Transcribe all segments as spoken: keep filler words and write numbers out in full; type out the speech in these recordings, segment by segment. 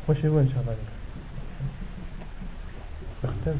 خشي وين شاء الله تختمش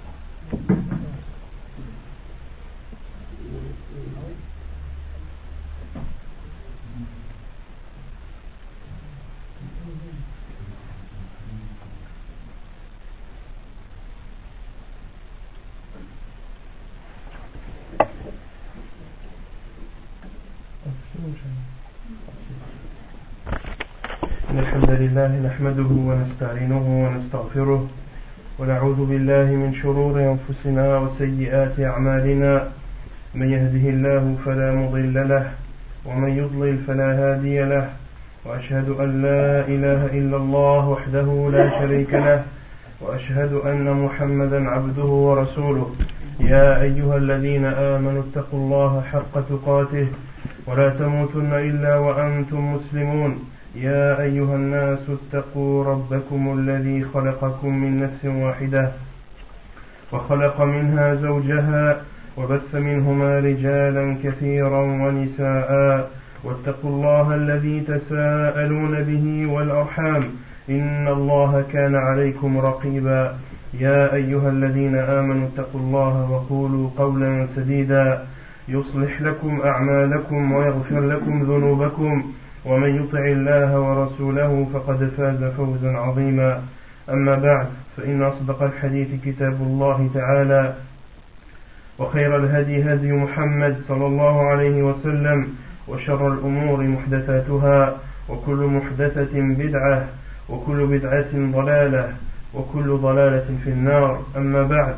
إن الحمد لله نحمده ونستعينه ونستغفره ونعوذ بالله من شرور أنفسنا وسيئات أعمالنا من يهده الله فلا مضل له ومن يضلل فلا هادي له وأشهد أن لا إله إلا الله وحده لا شريك له وأشهد أن محمدا عبده ورسوله يا أيها الذين آمنوا اتقوا الله حق تقاته ولا تموتن إلا وأنتم مسلمون يا أيها الناس اتقوا ربكم الذي خلقكم من نفس واحدة وخلق منها زوجها وبث منهما رجالا كثيرا ونساء واتقوا الله الذي تساءلون به والأرحام إن الله كان عليكم رقيبا يا أيها الذين آمنوا اتقوا الله وقولوا قولا سديدا يصلح لكم أعمالكم ويغفر لكم ذنوبكم ومن يطع الله ورسوله فقد فاز فوزا عظيما أما بعد فإن أصدق الحديث كتاب الله تعالى وخير الهدي هدي محمد صلى الله عليه وسلم وشر الأمور محدثاتها وكل محدثة بدعة وكل بدعة ضلالة وكل ضلالة في النار أما بعد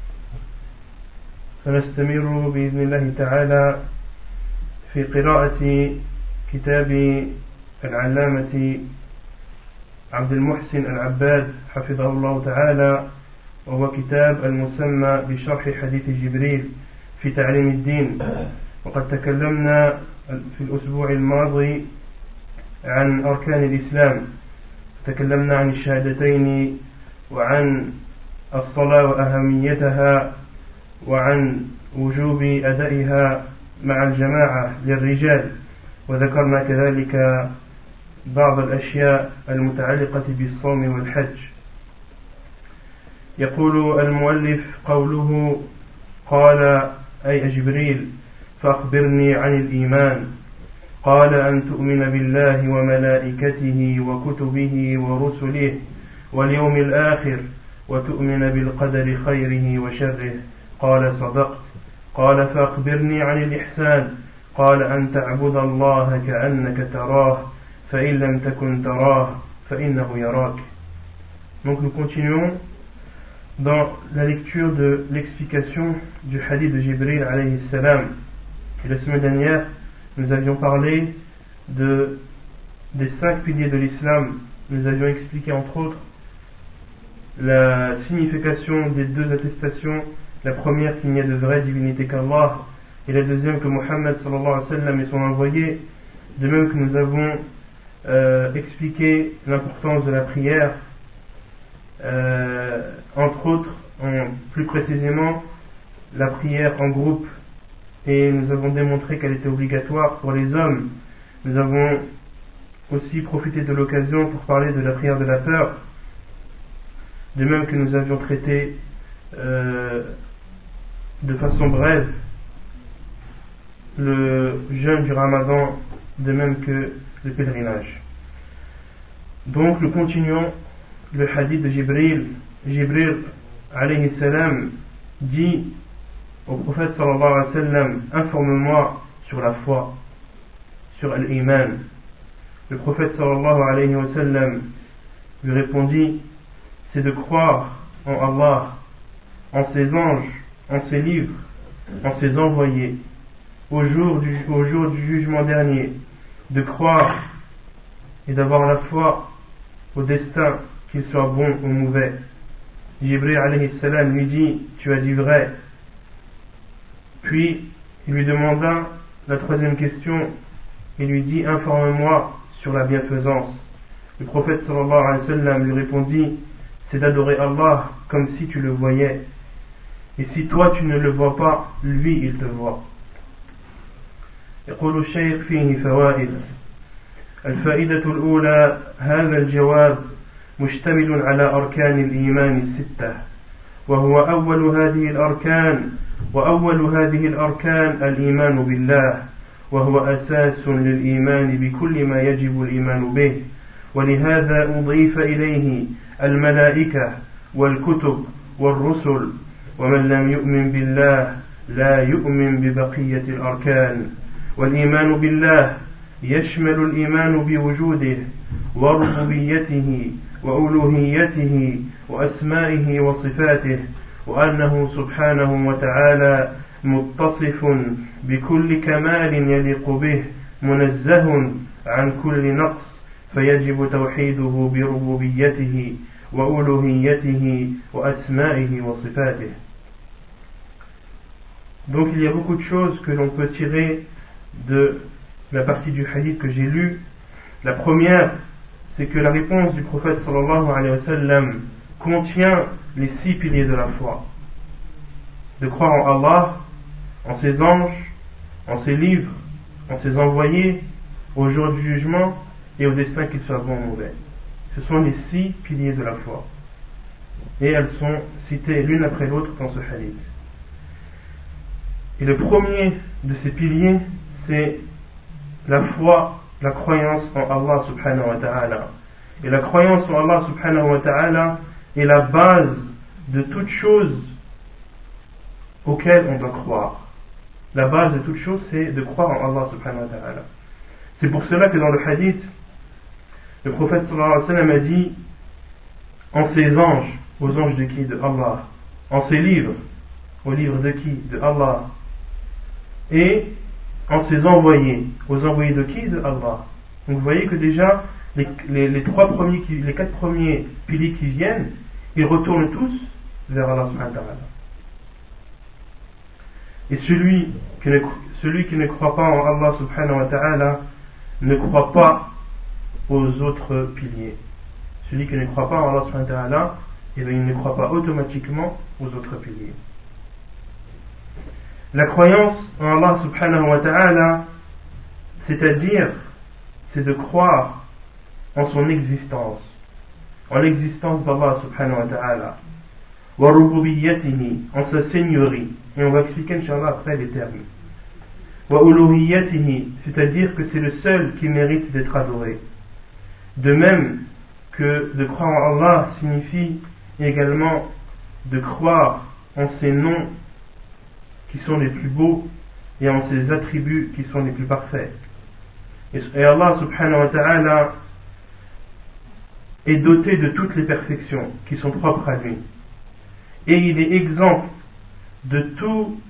فنستمر بإذن الله تعالى في قراءة كتاب العلامة عبد المحسن العباد حفظه الله تعالى وهو كتاب المسمى بشرح حديث جبريل في تعليم الدين. وقد تكلمنا في الأسبوع الماضي عن أركان الإسلام، تكلمنا عن الشهادتين وعن الصلاة وأهميتها وعن وجوب أدائها مع الجماعة للرجال، وذكرنا كذلك بعض الأشياء المتعلقة بالصوم والحج. يقول المؤلف قوله قال أي جبريل فأخبرني عن الإيمان قال أن تؤمن بالله وملائكته وكتبه ورسله واليوم الآخر وتؤمن بالقدر خيره وشره قال صدقت قال فأخبرني عن الإحسان قال أن تعبد الله كأنك تراه فإن لم تكن تراه فإنه يراك. Donc nous continuons dans la lecture de l'explication du hadith de Jibril alayhi salam. Et la semaine dernière, nous avions parlé de, des cinq piliers de l'islam. Nous avions expliqué entre autres la signification des deux attestations. La première, qu'il n'y a de vraie divinité qu'Allah, et la deuxième, que Mohammed sallallahu alayhi wa sallam est son envoyé. De même que nous avons euh, expliqué l'importance de la prière, euh, entre autres, en, plus précisément, la prière en groupe, et nous avons démontré qu'elle était obligatoire pour les hommes. Nous avons aussi profité de l'occasion pour parler de la prière de la peur, de même que nous avions traité euh, de façon brève le jeûne du Ramadan, de même que le pèlerinage. Donc nous continuons le hadith de Jibril. Jibril alayhi salam dit au prophète sallallahu alayhi wa sallam: informe-moi sur la foi, sur l'iman. Le prophète sallallahu alayhi wa sallam lui répondit: c'est de croire en Allah, en ses anges, en ses livres, en ses envoyés, au jour du, au jour du jugement dernier, de croire et d'avoir la foi au destin, qu'il soit bon ou mauvais. Jibril alayhi salam lui dit: tu as dit vrai. Puis il lui demanda la troisième question, il lui dit: informe-moi sur la bienfaisance. Le prophète sallallahu alayhi wa sallam lui répondit: c'est d'adorer Allah comme si tu le voyais, et si toi tu ne le vois pas, lui il te voit. يقول الشيخ فيه فوائد. الفائدة الأولى: هذا الجواب مشتمل على أركان الإيمان الستة، وهو أول هذه الأركان وأول هذه الأركان الإيمان بالله، وهو أساس للإيمان بكل ما يجب الإيمان به، ولهذا أضيف إليه الملائكة والكتب والرسل، ومن لم يؤمن بالله لا يؤمن ببقية الأركان. والإيمان بالله يشمل الإيمان بوجوده وربوبيته وألوهيته وأسمائه وصفاته، وأنه سبحانه وتعالى متصف بكل كمال يليق به منزه عن كل نقص، فيجب توحيده بربوبيته وألوهيته وأسمائه وصفاته. Donc il y a beaucoup de choses que l'on peut tirer de la partie du hadith que j'ai lu. La première, c'est que la réponse du prophète sallallahu alayhi wa sallam contient les six piliers de la foi. De croire en Allah, en ses anges, en ses livres, en ses envoyés, au jour du jugement et au destin qu'il soit bon ou mauvais. Ce sont les six piliers de la foi. Et elles sont citées l'une après l'autre dans ce hadith. Et le premier de ces piliers, c'est la foi, la croyance en Allah subhanahu wa ta'ala. Et la croyance en Allah subhanahu wa ta'ala est la base de toute chose auquel on doit croire. La base de toute chose, c'est de croire en Allah subhanahu wa ta'ala. C'est pour cela que dans le hadith, le prophète sallallahu alayhi wa sallam a dit en ses anges, aux anges de qui? De Allah. En ses livres, aux livres de qui? De Allah. Et en ses envoyés, aux envoyés de qui? De Allah. Donc vous voyez que déjà les, les, les trois premiers, qui, les quatre premiers piliers qui viennent, ils retournent tous vers Allah subhanahu wa ta'ala. Et celui qui, ne, celui qui ne croit pas en Allah subhanahu wa ta'ala ne croit pas aux autres piliers. Celui qui ne croit pas en Allah subhanahu wa ta'ala, eh bien, il ne croit pas automatiquement aux autres piliers. La croyance en Allah subhanahu wa ta'ala, c'est-à-dire, c'est de croire en son existence, en l'existence d'Allah subhanahu wa ta'ala, wa rububiyyatihi, en sa seigneurie, et on va expliquer inshallah après les termes, wa uluhiyyatihi, c'est-à-dire que c'est le seul qui mérite d'être adoré. De même que de croire en Allah signifie également de croire en ses noms qui sont les plus beaux et en ses attributs qui sont les plus parfaits. Et Allah subhanahu wa ta'ala est doté de toutes les perfections qui sont propres à lui. Et il est exempt de tout,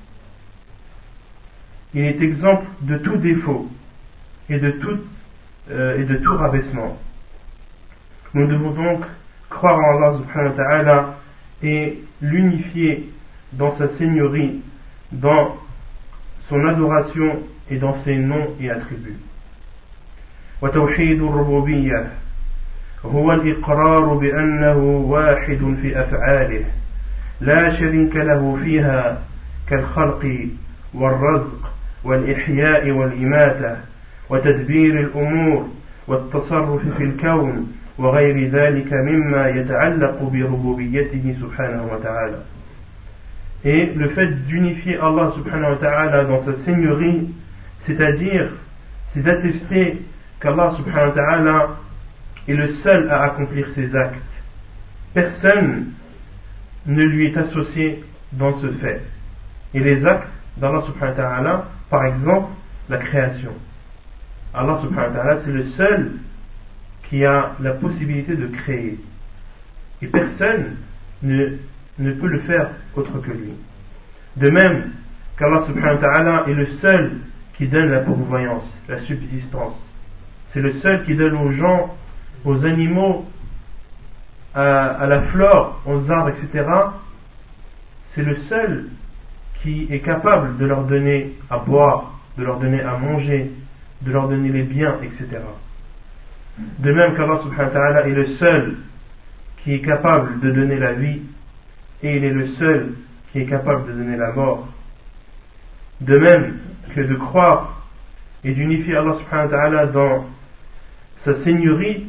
il est exempt de tout défaut et de tout, euh, et de tout rabaissement. Nous devons donc croire en Allah subhanahu wa ta'ala et l'unifier dans sa seigneurie, dans son adoration et dans ses noms et attributs. وتوحيد الربوبية هو الإقرار بأنه واحد في أفعاله لا شريك له فيها كالخلق والرزق والإحياء والإماتة وتدبير الأمور والتصرف في الكون وغير ذلك مما يتعلق بربوبيته سبحانه وتعالى. Et le fait d'unifier Allah subhanahu wa ta'ala dans sa seigneurie, c'est-à-dire, c'est d'attester qu'Allah subhanahu wa ta'ala est le seul à accomplir ses actes. Personne ne lui est associé dans ce fait. Et les actes d'Allah subhanahu wa ta'ala, par exemple, la création. Allah subhanahu wa ta'ala, c'est le seul qui a la possibilité de créer. Et personne ne, ne peut le faire autre que lui. De même qu'Allah subhanahu wa ta'ala est le seul qui donne la pourvoyance, la subsistance. C'est le seul qui donne aux gens, aux animaux, à, à la flore, aux arbres, et cetera. C'est le seul qui est capable de leur donner à boire, de leur donner à manger, de leur donner les biens, et cetera. De même qu'Allah subhanahu wa ta'ala est le seul qui est capable de donner la vie, et il est le seul qui est capable de donner la mort. De même que de croire et d'unifier Allah subhanahu wa ta'ala dans sa seigneurie,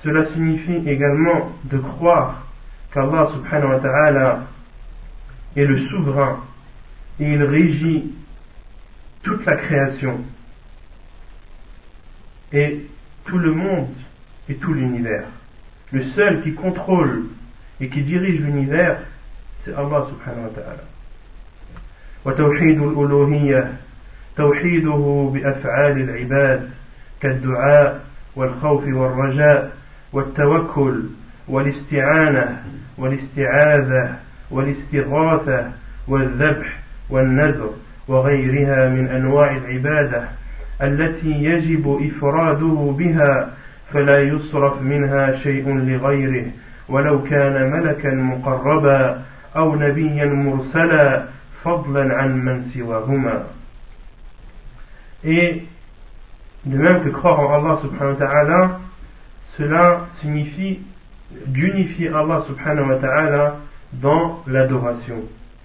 cela signifie également de croire qu'Allah subhanahu wa ta'ala est le souverain et il régit toute la création et tout le monde et tout l'univers. Le seul qui contrôle et qui dirige l'univers, c'est Allah subhanahu wa ta'ala. وتوحيد الألوهية توحيده بأفعال العباد كالدعاء والخوف والرجاء والتوكل والاستعانة والاستعاذة والاستغاثة والذبح والنذر وغيرها من أنواع العبادة التي يجب إفراده بها فلا يصرف منها شيء لغيره ولو كان ملكا مقربا أو نبيا مرسلا فضلا عن من سواهما. Et de même que croire en Allah subhanahu wa ta'ala, cela signifie d'unifier Allah subhanahu wa ta'ala dans l'adoration.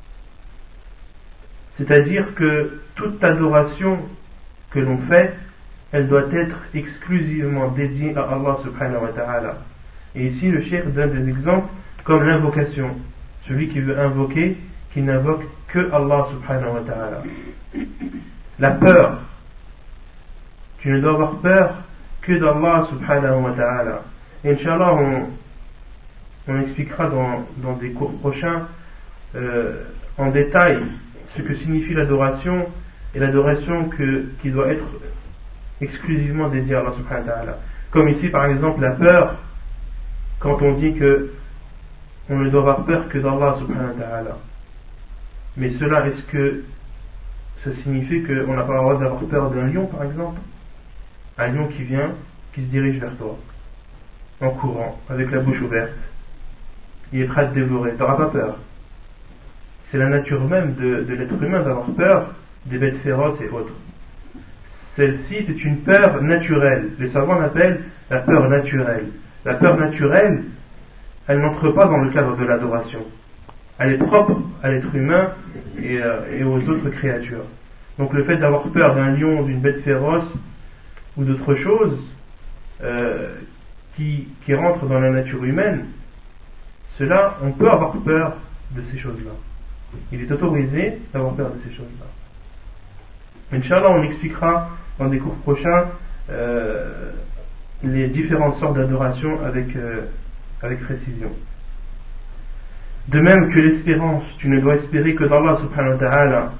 C'est-à-dire que toute adoration que l'on fait, elle doit être exclusivement dédiée à Allah subhanahu wa ta'ala. Et ici le cheikh donne des exemples comme l'invocation. Celui qui veut invoquer, qui n'invoque que Allah subhanahu wa ta'ala. La peur. Tu ne dois avoir peur que d'Allah subhanahu wa ta'ala. Et Inch'Allah, on, on expliquera dans, dans des cours prochains euh, en détail ce que signifie l'adoration et l'adoration que, qui doit être exclusivement dédiée à Allah subhanahu wa ta'ala. Comme ici par exemple la peur, quand on dit que on ne doit avoir peur que d'Allah subhanahu wa ta'ala. Mais cela, est-ce que ça signifie qu'on n'a pas le droit d'avoir peur d'un lion par exemple? Un lion qui vient, qui se dirige vers toi, en courant, avec la bouche ouverte. Il est prêt à te dévorer, tu n'auras pas peur. C'est la nature même de, de l'être humain d'avoir peur des bêtes féroces et autres. Celle-ci, c'est une peur naturelle. Les savants l'appellent la peur naturelle. La peur naturelle, elle n'entre pas dans le cadre de l'adoration. Elle est propre à l'être humain et, euh, et aux autres créatures. Donc le fait d'avoir peur d'un lion, d'une bête féroce ou d'autres choses euh, qui, qui rentrent dans la nature humaine, cela, on peut avoir peur de ces choses-là. Il est autorisé d'avoir peur de ces choses-là. Inch'Allah, on expliquera dans des cours prochains euh, les différentes sortes d'adoration avec, euh, avec précision. De même que l'espérance, tu ne dois espérer que d'Allah subhanahu wa ta'ala.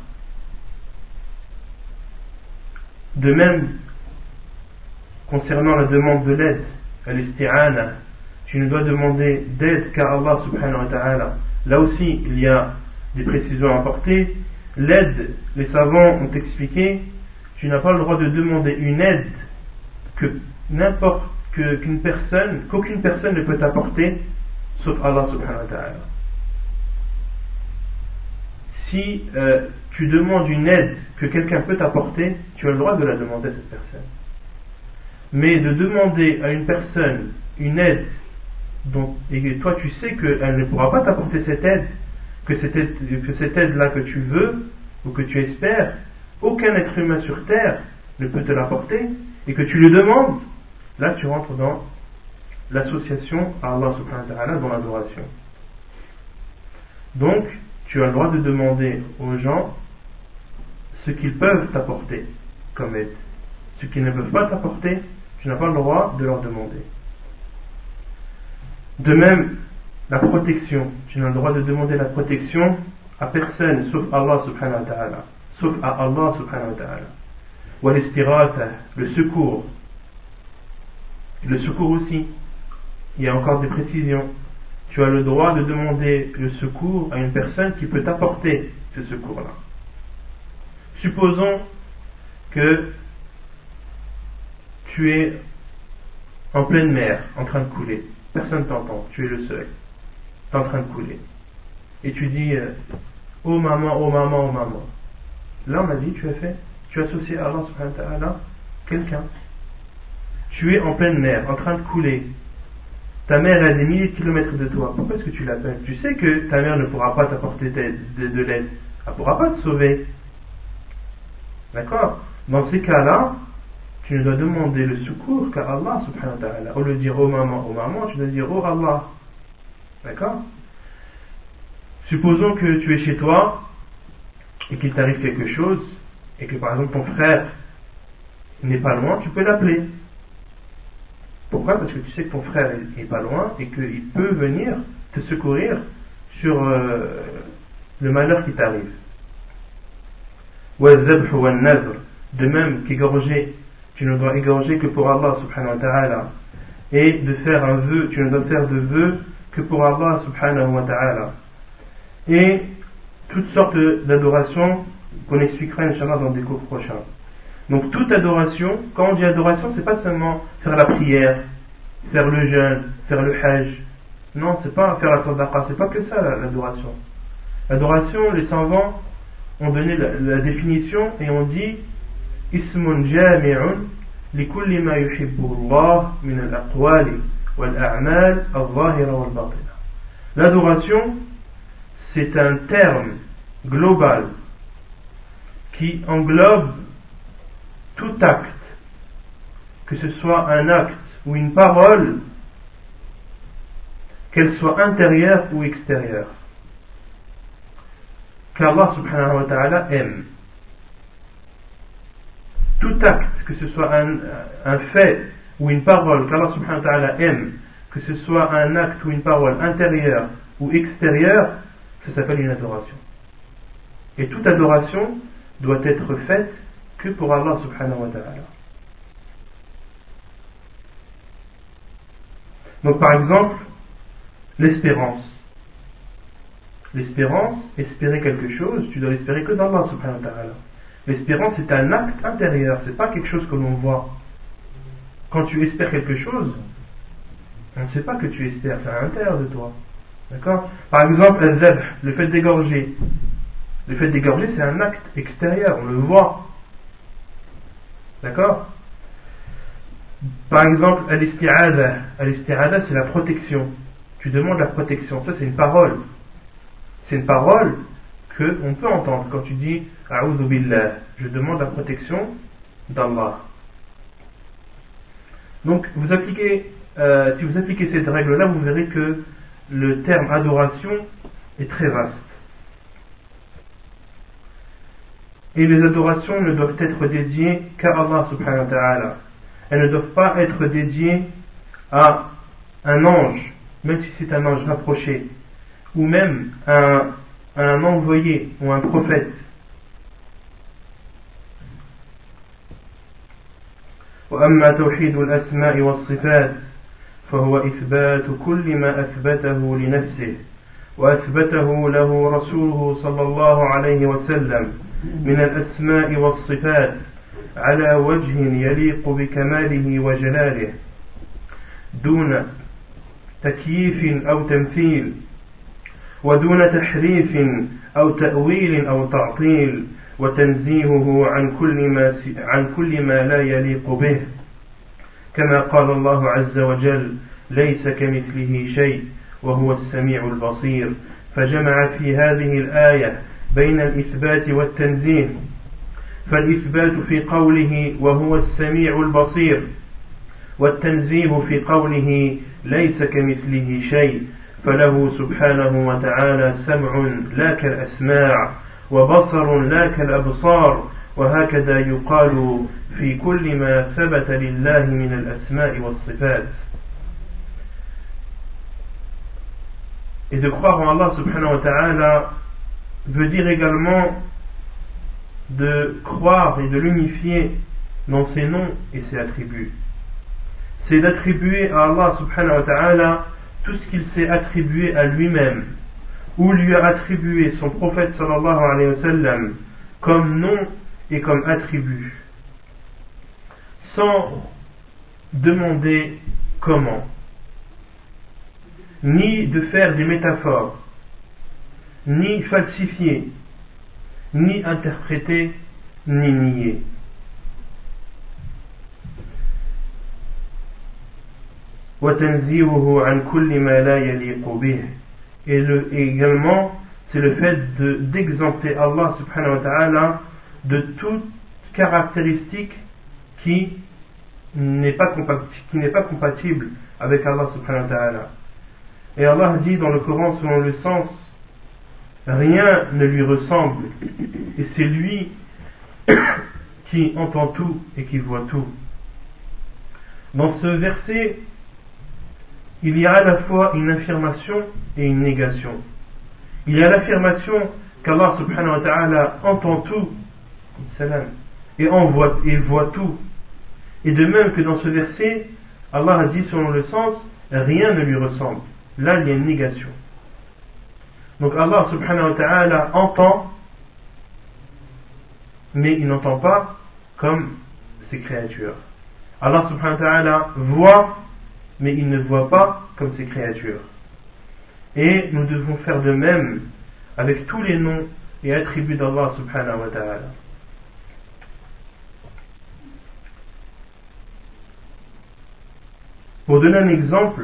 De même, concernant la demande de l'aide, al-isti'ana, tu ne dois demander d'aide qu'à Allah subhanahu wa ta'ala. Là aussi, il y a des précisions à apporter. L'aide, les savants ont expliqué, tu n'as pas le droit de demander une aide que n'importe que, qu'une personne, qu'aucune personne ne peut t'apporter, sauf Allah subhanahu wa ta'ala. Si euh, tu demandes une aide que quelqu'un peut t'apporter, tu as le droit de la demander à cette personne. Mais de demander à une personne une aide dont, et que toi tu sais qu'elle ne pourra pas t'apporter cette aide, que cette aide, que cette aide-là que tu veux ou que tu espères, aucun être humain sur terre ne peut te l'apporter, et que tu le demandes, là tu rentres dans l'association à Allah subhanahu wa ta'ala, dans l'adoration. Donc, tu as le droit de demander aux gens ce qu'ils peuvent t'apporter comme aide. Ce qu'ils ne peuvent pas t'apporter, tu n'as pas le droit de leur demander. De même, la protection. Tu n'as le droit de demander la protection à personne sauf Allah subhanahu wa ta'ala. Sauf à Allah subhanahu wa ta'ala. Wa l'istirata, le secours. Le secours aussi. Il y a encore des précisions. Tu as le droit de demander le secours à une personne qui peut t'apporter ce secours-là. Supposons que tu es en pleine mer, en train de couler. Personne t'entend, tu es le seul. Tu es en train de couler. Et tu dis euh, oh maman, oh maman, oh maman. Là on a dit, tu as fait, tu as associé à Allah subhanahu wa ta'ala quelqu'un. Tu es en pleine mer, en train de couler. Ta mère est à des milliers de kilomètres de toi. Pourquoi est-ce que tu l'appelles? Tu sais que ta mère ne pourra pas t'apporter de, de, de l'aide. Elle ne pourra pas te sauver. D'accord? Dans ces cas-là, tu ne dois demander le secours qu'à Allah subhanahu wa ta'ala. Au lieu de dire oh maman, oh maman, tu dois dire oh Allah. D'accord? Supposons que tu es chez toi et qu'il t'arrive quelque chose et que par exemple ton frère n'est pas loin, tu peux l'appeler. Pourquoi? Parce que tu sais que ton frère n'est pas loin et qu'il peut venir te secourir sur euh, le malheur qui t'arrive. De même qu'égorger, tu ne dois égorger que pour Allah subhanahu wa ta'ala. Et de faire un vœu, tu ne dois faire de vœu que pour Allah subhanahu wa ta'ala. Et toutes sortes d'adorations qu'on expliquera Inch'Allah dans des cours prochains. Donc toute adoration, quand on dit adoration, c'est pas seulement faire la prière, faire le jeûne, faire le hajj. Non, c'est pas faire la sadaqa, c'est pas que ça l'adoration. L'adoration, les savants ont donné la, la définition et ont dit ismun jami'un li kulli ma yuhibbu Allah min al-aqwali wal a'mal al-zahira wal batina. L'adoration, c'est un terme global qui englobe tout acte, que ce soit un acte ou une parole, qu'elle soit intérieure ou extérieure, qu'Allah subhanahu wa ta'ala aime. Tout acte, que ce soit un, un fait ou une parole qu'Allah subhanahu wa ta'ala aime, que ce soit un acte ou une parole intérieure ou extérieure, ça s'appelle une adoration. Et toute adoration doit être faite que pour Allah subhanahu wa ta'ala. Donc par exemple, l'espérance. L'espérance, espérer quelque chose, tu dois l'espérer que d'Allah subhanahu wa ta'ala. L'espérance c'est un acte intérieur, c'est pas quelque chose que l'on voit. Quand tu espères quelque chose, on ne sait pas que tu espères, c'est à l'intérieur de toi. D'accord? Par exemple, al-zabh, le fait d'égorger. Le fait d'égorger, c'est un acte extérieur, on le voit. D'accord? Par exemple, al-isti'adha. Al-isti'adha, c'est la protection. Tu demandes la protection. Ça, c'est une parole. C'est une parole qu'on peut entendre quand tu dis A'udhu billah. Je demande la protection d'Allah. Donc, vous appliquez, euh, si vous appliquez cette règle-là, vous verrez que le terme adoration est très vaste. Et les adorations ne doivent être dédiées qu'à Allah subhanahu wa ta'ala. Elles ne doivent pas être dédiées à un ange, même si c'est un ange rapproché, ou même à un, à un envoyé ou un prophète. وأما توحيد الأسماء والصفات فهو إثبات كل ما أثبته لنفسه وأثبته له رسوله صلى الله عليه وسلم من الأسماء والصفات على وجه يليق بكماله وجلاله دون تكييف أو تمثيل ودون تحريف أو تأويل أو تعطيل وتنزيهه عن كل ما عن كل ما لا يليق به كما قال الله عز وجل ليس كمثله شيء وهو السميع البصير فجمع في هذه الآية بين الإثبات والتنزيه فالإثبات في قوله وهو السميع البصير والتنزيه في قوله ليس كمثله شيء فله سبحانه وتعالى سمع لا كالأسماع وبصر لا كالأبصار وهكذا يقال في كل ما ثبت لله من الأسماء والصفات. Et de croire en Allah subhanahu wa ta'ala veut dire également de croire et de l'unifier dans ses noms et ses attributs. C'est d'attribuer à Allah subhanahu wa ta'ala tout ce qu'il s'est attribué à lui-même ou lui a attribué son prophète sallallahu alayhi wa sallam comme nom et comme attribut sans demander comment, ni de faire des métaphores, ni falsifier, ni interpréter, ni nier. وتنزيهه عن كل ما لا يليق به. Et, le, et également c'est le fait de, d'exempter Allah subhanahu wa ta'ala de toute caractéristique qui n'est pas compatible, qui n'est pas compatible avec Allah subhanahu wa ta'ala. Et Allah dit dans le Coran selon le sens, rien ne lui ressemble, et c'est lui qui entend tout et qui voit tout. Dans ce verset, il y a à la fois une affirmation et une négation. Il y a l'affirmation qu'Allah subhanahu wa ta'ala entend tout, et, voit, et voit tout. Et de même que dans ce verset, Allah a dit selon le sens, rien ne lui ressemble. Là, il y a une négation. Donc Allah subhanahu wa ta'ala entend, mais il n'entend pas comme ses créatures. Allah subhanahu wa ta'ala voit, mais il ne voit pas comme ses créatures. Et nous devons faire de même avec tous les noms et attributs d'Allah subhanahu wa ta'ala. Pour donner un exemple,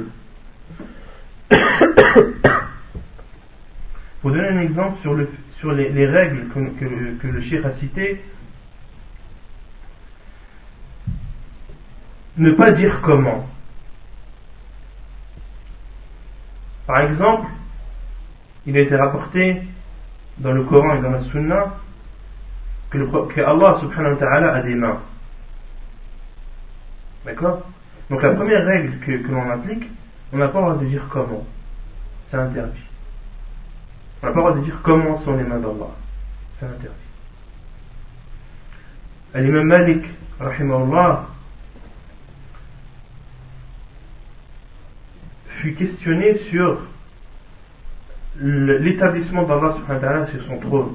pour donner un exemple sur, le, sur les, les règles que, que, que le cheikh a citées, ne pas dire comment. Par exemple, il a été rapporté dans le Coran et dans la Sunna que, le, que Allah subhanahu wa ta'ala a des mains. D'accord? Donc la première règle que, que l'on applique, on n'a pas le droit de dire comment. C'est interdit. On n'a pas le droit de dire comment sont les mains d'Allah. C'est interdit. L'imam Malik, rahimahullah, fut questionné sur l'établissement d'Allah subhanahu wa ta'ala sur son trône.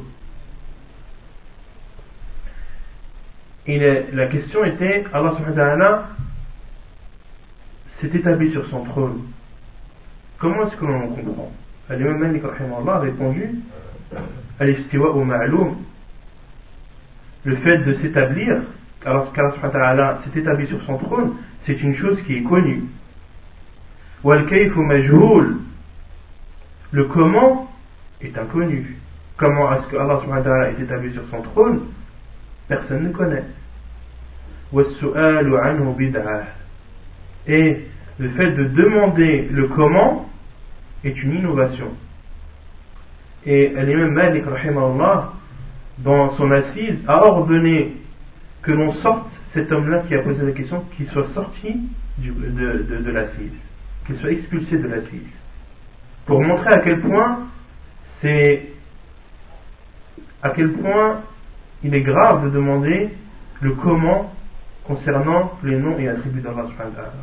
Et la, la question était, Allah subhanahu wa ta'ala s'est établi sur son trône. Comment est-ce que l'on en comprend? L'imam Malik rahimahullah a répondu, al-istiwa ou ma'loum, le fait de s'établir, alors qu'Allah subhanahu wa ta'ala s'est établi sur son trône, c'est une chose qui est connue. Wal-kayfu majhoul, le comment est inconnu. Comment est-ce que Allah subhanahu wa ta'ala est établi sur son trône? Personne ne connaît. Was-su'alu anhu bid'ah, et le fait de demander le comment est une innovation. Et l'imam Malik rahimahullah, dans son assise, a ordonné que l'on sorte cet homme-là qui a posé la question, qu'il soit sorti du, de, de, de l'assise, qu'il soit expulsé de l'assise, pour montrer à quel point c'est à quel point il est grave de demander le comment concernant les noms et attributs d'Allah subhanahu wa ta'ala.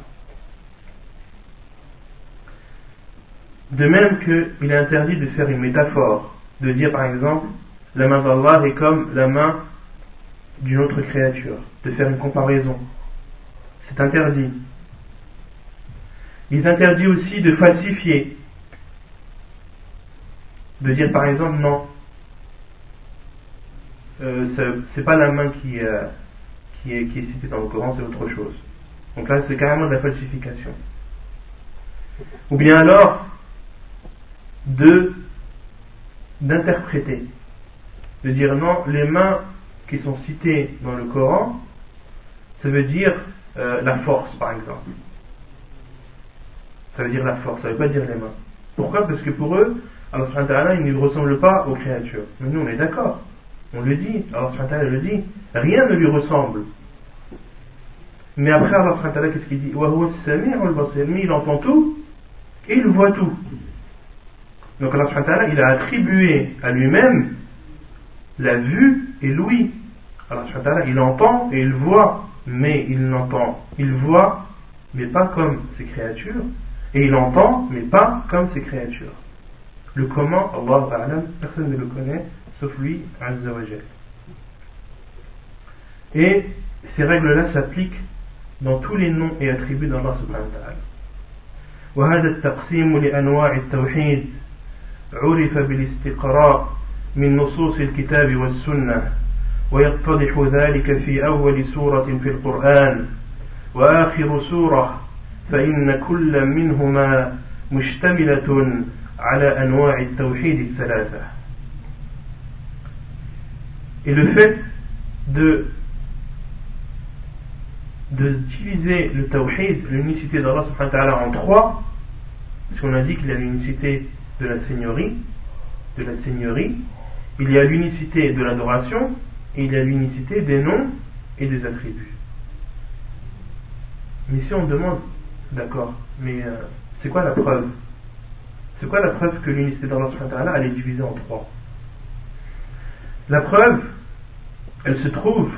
De même qu'il est interdit de faire une métaphore, de dire par exemple la main d'Allah est comme la main d'une autre créature, de faire une comparaison. C'est interdit. Il est interdit aussi de falsifier, de dire par exemple non, euh, c'est pas la main qui, euh, qui, est, qui est citée dans le Coran, c'est autre chose. Donc là c'est carrément de la falsification. Ou bien alors de d'interpréter, de dire non, les mains qui sont citées dans le Coran, ça veut dire euh, la force par exemple. Ça veut dire la force, ça veut pas dire les mains. Pourquoi? Parce que pour eux, Allah subhanahu wa ta'ala, il ne ressemble pas aux créatures. Mais nous on est d'accord, on le dit, Allah subhanahu wa ta'ala le dit, rien ne lui ressemble. Mais après Allah subhanahu wa ta'ala, qu'est-ce qu'il dit? Wa huwa as-sami'ul basir, mais il entend tout et il voit tout. Donc Allah subhanahu wa ta'ala, il a attribué à lui-même la vue et l'ouïe. Allah subhanahu wa ta'ala, il entend et il voit, mais il n'entend, il voit, mais pas comme ses créatures, et il entend, mais pas comme ses créatures. Le comment, Allah ta'ala, personne ne le connaît, sauf lui, Azza wa Jal. Et ces règles-là s'appliquent dans tous les noms et attributs d'Allah subhanahu wa ta'ala. وهذا التقسيم لأنواع التوحيد عرف بالاستقراء من نصوص الكتاب والسنة، ويتضح ذلك في أول سورة في القرآن وآخر سورة، فإن كل منهما مشتملة على أنواع التوحيد الثلاثة. Et le fait de de diviser le tawhid, l'unicité d'Allah subhanahu wa ta'ala, en trois, parce qu'on a dit qu'il y a l'unicité de la seigneurie, de la seigneurie, il y a l'unicité de l'adoration, et il y a l'unicité des noms et des attributs. Mais si on demande, d'accord, mais euh, c'est quoi la preuve? C'est quoi la preuve que l'unicité d'Allah subhanahu wa ta'ala, elle est divisée en trois? La preuve, elle se trouve,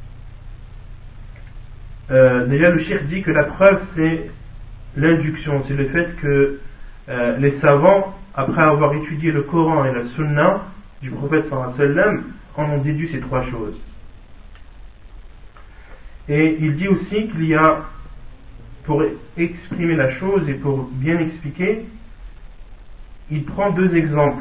euh, déjà le cheikh dit que la preuve c'est l'induction, c'est le fait que euh, les savants, après avoir étudié le Coran et la Sunna du prophète sallallahu alayhi wa sallam, en ont déduit ces trois choses. Et il dit aussi qu'il y a, pour exprimer la chose et pour bien expliquer, il prend deux exemples.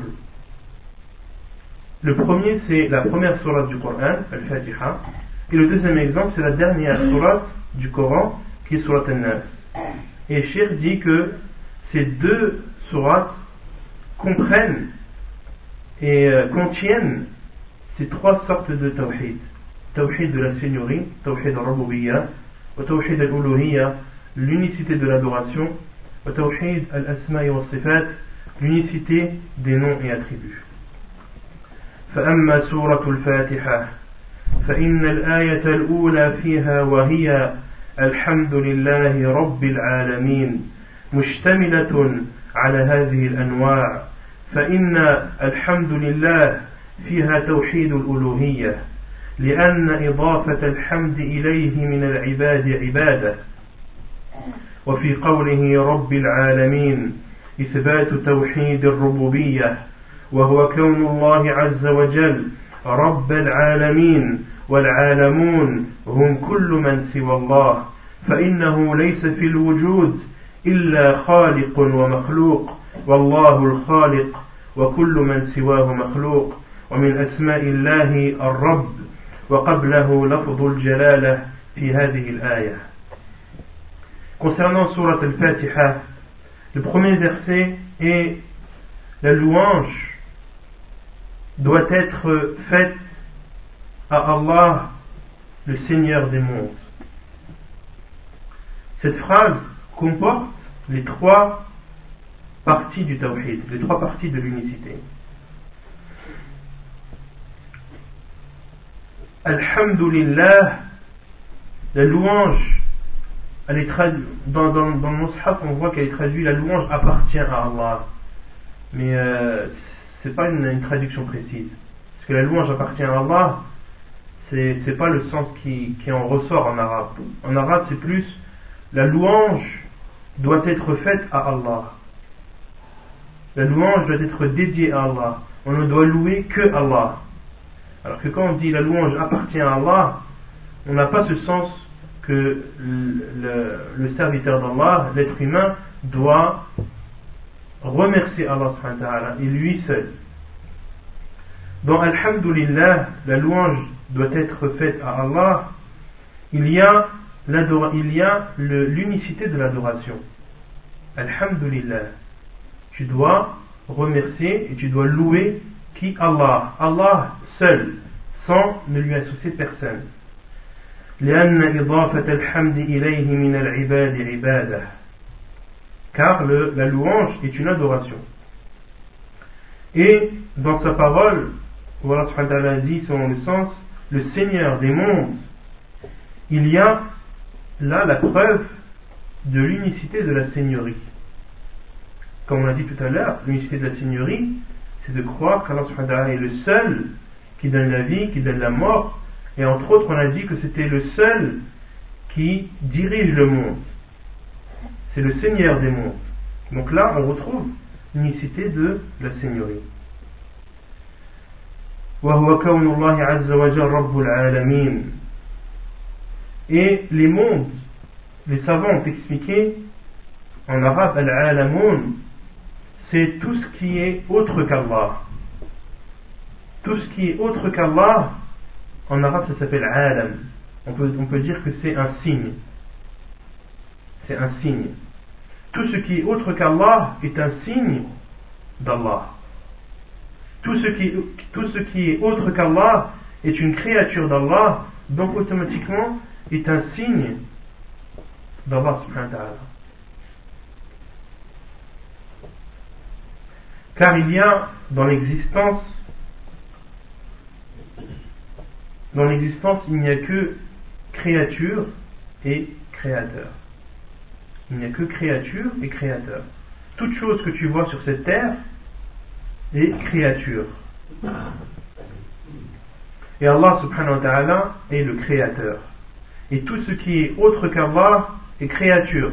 Le premier, c'est la première sourate du Coran, Al-Fatiha, et le deuxième exemple, c'est la dernière sourate du Coran, qui est sourate An-Nas. Et Cheikh dit que ces deux sourates comprennent et euh, contiennent ces trois sortes de tawhid. Tawhid de la seigneurie, tawhid al-rububiyya, wa tawhid al-uluhiyya, l'unicité de l'adoration, wa tawhid al-asma'i wa sifat, l'unicité des noms et attributs. فأما سورة الفاتحة فإن الآية الأولى فيها وهي الحمد لله رب العالمين مشتملة على هذه الأنواع، فإن الحمد لله فيها توحيد الألوهية، لأن إضافة الحمد إليه من العباد عبادة، وفي قوله رب العالمين إثبات توحيد الربوبية، وهو كون الله عز وجل رب العالمين، والعالمون هم كل من سوى الله، فإنه ليس في الوجود إلا خالق ومخلوق، والله الخالق وكل من سواه مخلوق. ومن أسماء الله الرب، وقبله لفظ الجلالة في هذه الآية. Concernant Surat al-Fatiha, le premier verset est la louange doit être faite à Allah, le Seigneur des mondes. Cette phrase comporte les trois parties du tawhid, les trois parties de l'unicité. Alhamdulillah, la louange, elle est traduite, dans, dans, dans le Mus'haf, on voit qu'elle est traduite, la louange appartient à Allah. Mais euh, c'est pas une, une traduction précise. Parce que la louange appartient à Allah, c'est, c'est pas le sens qui, qui en ressort en arabe. En arabe, c'est plus la louange doit être faite à Allah. La louange doit être dédiée à Allah. On ne doit louer que Allah. Alors que quand on dit la louange appartient à Allah, on n'a pas ce sens que le, le, le serviteur d'Allah, l'être humain, doit remercier Allah subhanahu wa ta'ala et lui seul. Dans Alhamdulillah, la louange doit être faite à Allah. Il y a, il y a le, l'unicité de l'adoration. Alhamdulillah, tu dois remercier et tu dois louer qui? Allah. Allah seul, sans ne lui associer personne. لأن إضافة الحمد إليه من العباد عبادة. Car le, la louange est une adoration. Et dans sa parole, Allah subhanahu wa ta'ala dit selon le sens, le Seigneur des mondes, il y a là la preuve de l'unicité de la seigneurie. Comme on l'a dit tout à l'heure, l'unicité de la seigneurie, c'est de croire qu'Allah subhanahu wa ta'ala est le seul qui donne la vie, qui donne la mort, et entre autres on a dit que c'était le seul qui dirige le monde. C'est le Seigneur des mondes. Donc là, on retrouve l'unicité de la seigneurie. وَهُوَ كَوْنُ اللَّهِ عَزَّ وَجَلَّ رَبُّ الْعَالَمِينَ. Et les mondes, les savants ont expliqué en arabe, al-alamoun, c'est tout ce qui est autre qu'Allah. Tout ce qui est autre qu'Allah, en arabe ça s'appelle alam. On peut, on peut dire que c'est un signe. C'est un signe. Tout ce qui est autre qu'Allah est un signe d'Allah. Tout ce qui, tout ce qui est autre qu'Allah est une créature d'Allah, donc automatiquement est un signe d'Allah subhanahu wa ta'ala. Car il y a dans l'existence, dans l'existence, il n'y a que créature et créateur. Il n'y a que créature et créateur. Toute chose que tu vois sur cette terre est créature. Et Allah subhanahu wa ta'ala est le créateur. Et tout ce qui est autre qu'Allah est créature.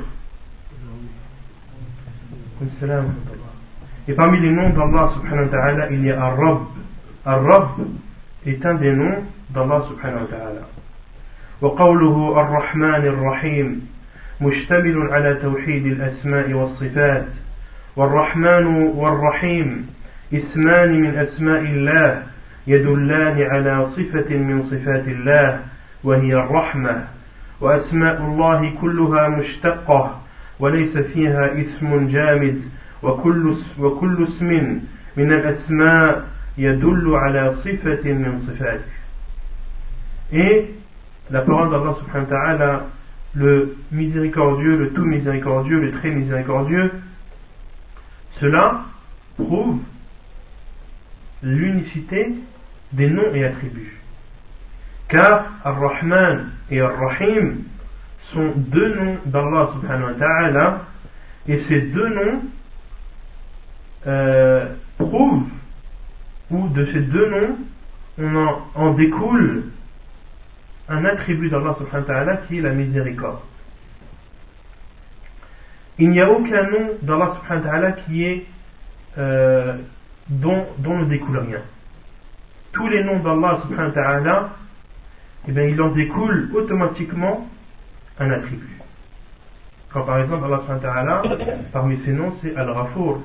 Et parmi les noms d'Allah subhanahu wa ta'ala, il y a Ar-Rabb. Ar-Rabb est un des noms d'Allah subhanahu wa ta'ala. وقوله الرحمن الرحيم مشتمل على توحيد الأسماء والصفات. والرحمن والرحيم اسمان من أسماء الله يدلان على صفة من صفات الله وهي الرحمة. وأسماء الله كلها مشتقة وليس فيها اسم جامد وكل وكل اسم من الأسماء يدل على صفة من صفاته. Et la parole d'Allah subhanahu wa ta'ala, le miséricordieux, le tout miséricordieux, le très miséricordieux, cela prouve l'unicité des noms et attributs. Car Ar-Rahman et Ar-Rahim sont deux noms d'Allah subhanahu wa ta'ala, et ces deux noms euh, prouvent, ou de ces deux noms, on en, en découle un attribut d'Allah subhanahu wa ta'ala qui est la miséricorde. Il n'y a aucun nom d'Allah subhanahu wa ta'ala qui est euh, dont, dont ne découle rien. Tous les noms d'Allah subhanahu wa ta'ala, eh bien, il en découle automatiquement un attribut. Quand par exemple Allah subhanahu wa ta'ala, parmi ses noms, c'est Al-Ghafour.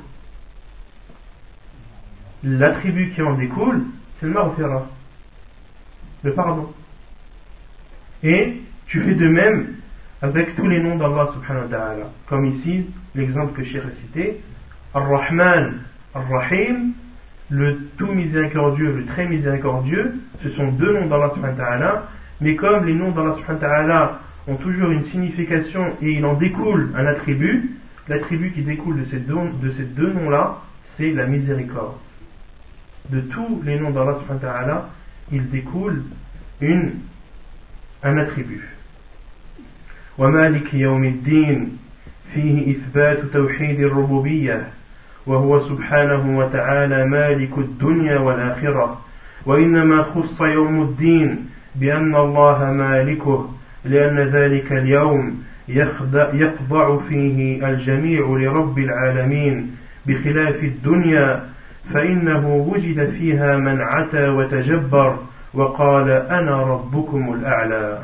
L'attribut qui en découle, c'est le Maghfira, le pardon. Et tu fais de même avec tous les noms d'Allah subhanahu wa ta'ala. Comme ici, l'exemple que Cheikh a cité, Ar-Rahman, Ar-Rahim, le tout miséricordieux, le très miséricordieux, ce sont deux noms d'Allah subhanahu wa ta'ala, mais comme les noms d'Allah subhanahu wa ta'ala ont toujours une signification et il en découle un attribut, l'attribut qui découle de ces deux, de ces deux noms-là, c'est la miséricorde. De tous les noms d'Allah subhanahu wa ta'ala, il découle une un attribut. ومالك يوم الدين فيه إثبات توحيد الربوبية وهو سبحانه وتعالى مالك الدنيا والآخرة وإنما خص يوم الدين بأن الله مالكه لأن ذلك اليوم يخضع فيه الجميع لرب العالمين بخلاف الدنيا فإنه وجد فيها من عتى وتجبر وقال أنا ربكم الأعلى.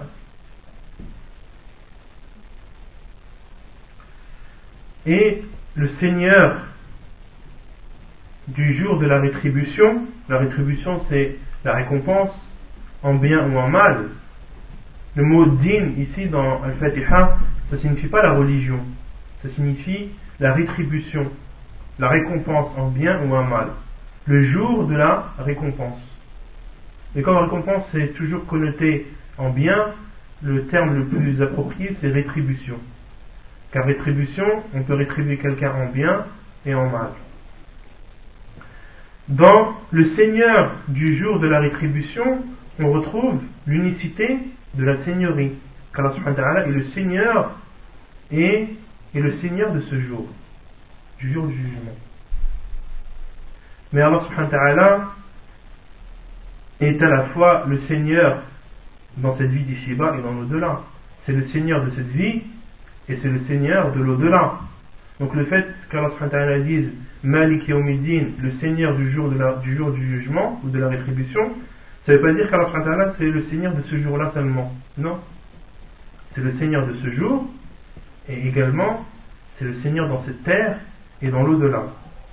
Et le Seigneur du jour de la rétribution, la rétribution c'est la récompense en bien ou en mal. Le mot din ici dans Al-Fatiha, ça signifie pas la religion, ça signifie la rétribution, la récompense en bien ou en mal. Le jour de la récompense. Et comme récompense c'est toujours connoté en bien, le terme le plus approprié c'est rétribution. Car rétribution, on peut rétribuer quelqu'un en bien et en mal. Dans le Seigneur du jour de la rétribution, on retrouve l'unicité de la Seigneurie. Car Allah subhanahu wa ta'ala est le Seigneur et est le Seigneur de ce jour, du jour du jugement. Mais Allah subhanahu wa ta'ala est à la fois le Seigneur dans cette vie d'ici-bas et dans l'au-delà. C'est le Seigneur de cette vie et c'est le Seigneur de l'au-delà. Donc le fait qu'Allah subhanahu wa ta'ala dise Malik Yawmiddin, le Seigneur du jour, de la, du jour du jugement ou de la rétribution, ça ne veut pas dire qu'Allah subhanahu wa ta'ala c'est le Seigneur de ce jour-là seulement. Non. C'est le Seigneur de ce jour et également c'est le Seigneur dans cette terre et dans l'au-delà.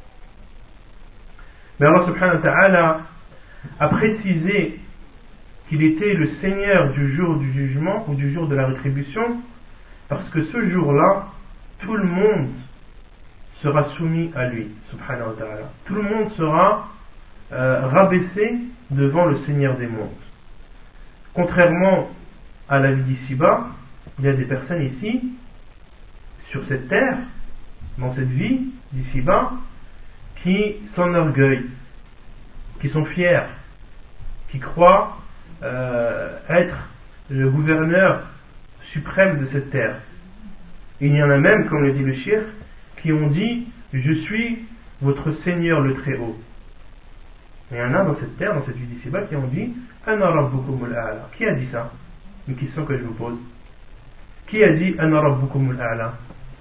Mais Allah subhanahu wa ta'ala a précisé qu'il était le Seigneur du jour du jugement ou du jour de la rétribution parce que ce jour-là, tout le monde sera soumis à lui, subhanahu wa ta'ala. Tout le monde sera euh, rabaissé devant le Seigneur des mondes. Contrairement à la vie d'ici-bas, il y a des personnes ici sur cette terre, dans cette vie, d'ici-bas, qui s'enorgueillent, qui sont fiers, qui croient euh, être le gouverneur suprême de cette terre. Il y en a même, comme le dit le shir, qui ont dit « Je suis votre Seigneur le Très-Haut ». Il y en a dans cette terre, dans cette vie d'ici-bas, qui ont dit « Ana rabbukumul a'la ». Qui a dit ça? Une question que je vous pose. Qui a dit « Ana rabbukumul a'la »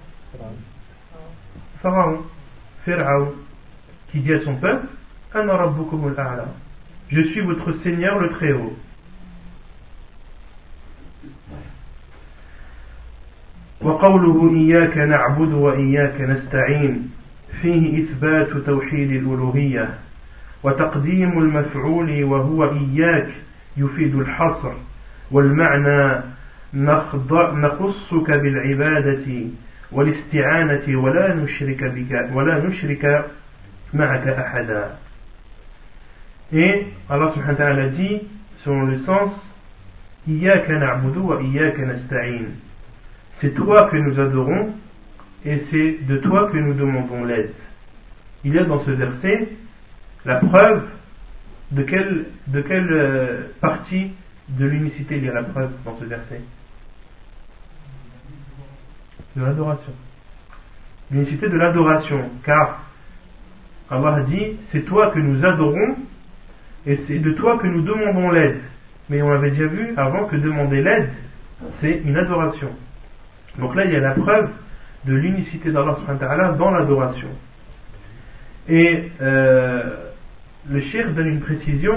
Pharaon, Pharaon, qui dit à son peuple « Ana rabbukumul a'la ». Je suis votre Seigneur le Très-Haut. وقوله إياك نعبد وإياك نستعين فيه إثبات توحيد الألوهية وتقديم المفعول وهو إياك يفيد الحصر والمعنى نخصك بالعبادة والاستعانة ولا نشرك بك ولا نشرك معك أحدا. Et Allah subhanahu wa ta'ala dit selon le sens إياك نعبد وإياك نستعين. C'est toi que nous adorons et c'est de toi que nous demandons l'aide. Il y a dans ce verset la preuve de quelle, de quelle euh, partie de l'unicité il y a la preuve dans ce verset? De l'adoration. L'unicité de l'adoration, car Allah dit c'est toi que nous adorons et c'est de toi que nous demandons l'aide. Mais on avait déjà vu avant que demander l'aide c'est une adoration. Donc là il y a la preuve de l'unicité d'Allah subhanahu wa ta'ala dans l'adoration. Et euh, le cheikh donne une précision.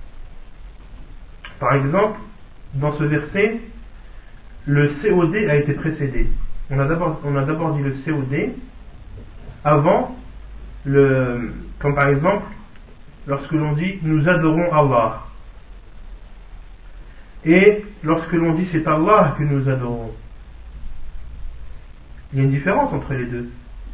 Par exemple, dans ce verset, le C O D a été précédé. On a d'abord, on a d'abord dit le C O D avant le, comme par exemple lorsque l'on dit nous adorons Allah. Et lorsque l'on dit c'est Allah que nous adorons. Il y a une différence entre les deux.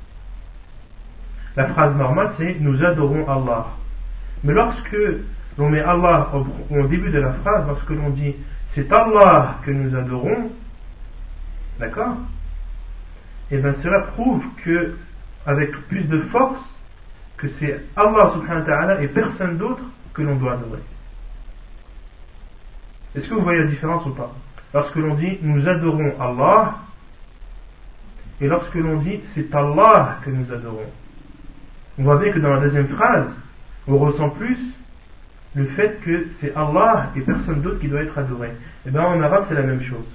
La phrase normale c'est nous adorons Allah. Mais lorsque l'on met Allah au, au début de la phrase, lorsque l'on dit c'est Allah que nous adorons, d'accord? Et bien cela prouve que, avec plus de force, que c'est Allah subhanahu wa ta'ala et personne d'autre que l'on doit adorer. Est-ce que vous voyez la différence ou pas? Lorsque l'on dit nous adorons Allah, et lorsque l'on dit c'est Allah que nous adorons, on voit bien que dans la deuxième phrase, on ressent plus le fait que c'est Allah et personne d'autre qui doit être adoré. Et bien en arabe c'est la même chose.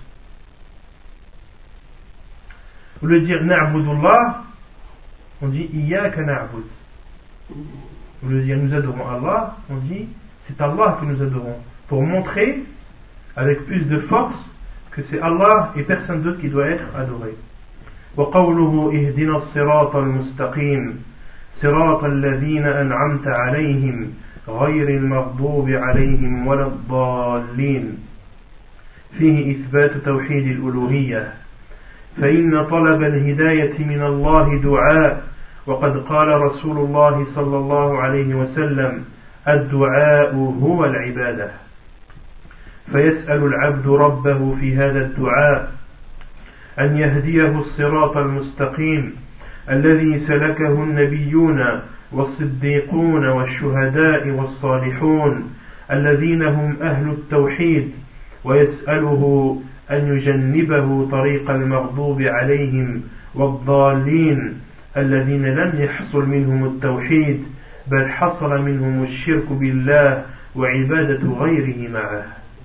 Au lieu de dire na'budullah, on dit iyyaka na'bud. Au lieu de dire nous adorons Allah, on dit c'est Allah que nous adorons. Pour montrer avec plus de force que c'est Allah et personne d'autre qui doit être adoré. وقوله اهدنا الصراط المستقيم صراط الذين أنعمت عليهم غير المغضوب عليهم ولا الضالين فيه إثبات توحيد الألوهية فإن طلب الهداية من الله دعاء وقد قال رسول الله صلى الله عليه وسلم الدعاء هو العبادة فيسأل العبد ربه في هذا الدعاء أن يهديه الصراط المستقيم الذي سلكه النبيون والصديقون والشهداء والصالحون الذين هم أهل التوحيد ويسأله أن يجنبه طريق المغضوب عليهم والضالين الذين لم يحصل منهم التوحيد بل حصل منهم الشرك بالله وعبادة غيره معه.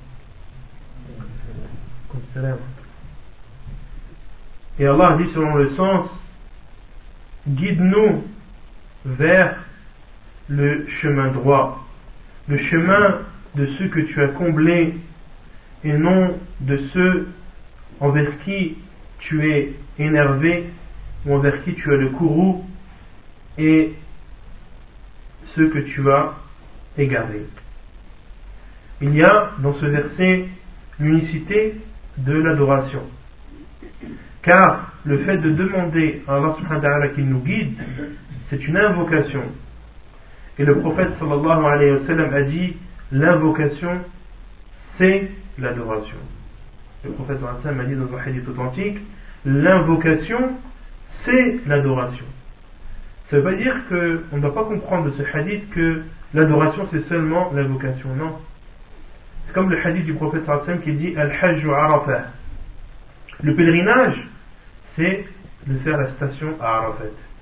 Et Allah dit selon le sens, guide-nous vers le chemin droit, le chemin de ceux que tu as comblés et non de ceux envers qui tu es énervé ou envers qui tu as le courroux et ceux que tu as égarés. Il y a dans ce verset l'unicité de l'adoration. Car le fait de demander à Allah subhanahu wa ta'ala qu'il nous guide, c'est une invocation. Et le prophète sallallahu alayhi wa sallam a dit, l'invocation, c'est l'adoration. Le prophète sallallahu alayhi wa sallam a dit dans un hadith authentique, l'invocation, c'est l'adoration. Ça ne veut pas dire qu'on ne doit pas comprendre de ce hadith que l'adoration c'est seulement l'invocation, non. C'est comme le hadith du prophète sallallahu alayhi wa sallam qui dit Al-Hajj Arafah. Le pèlerinage, c'est de faire la station à Arafat.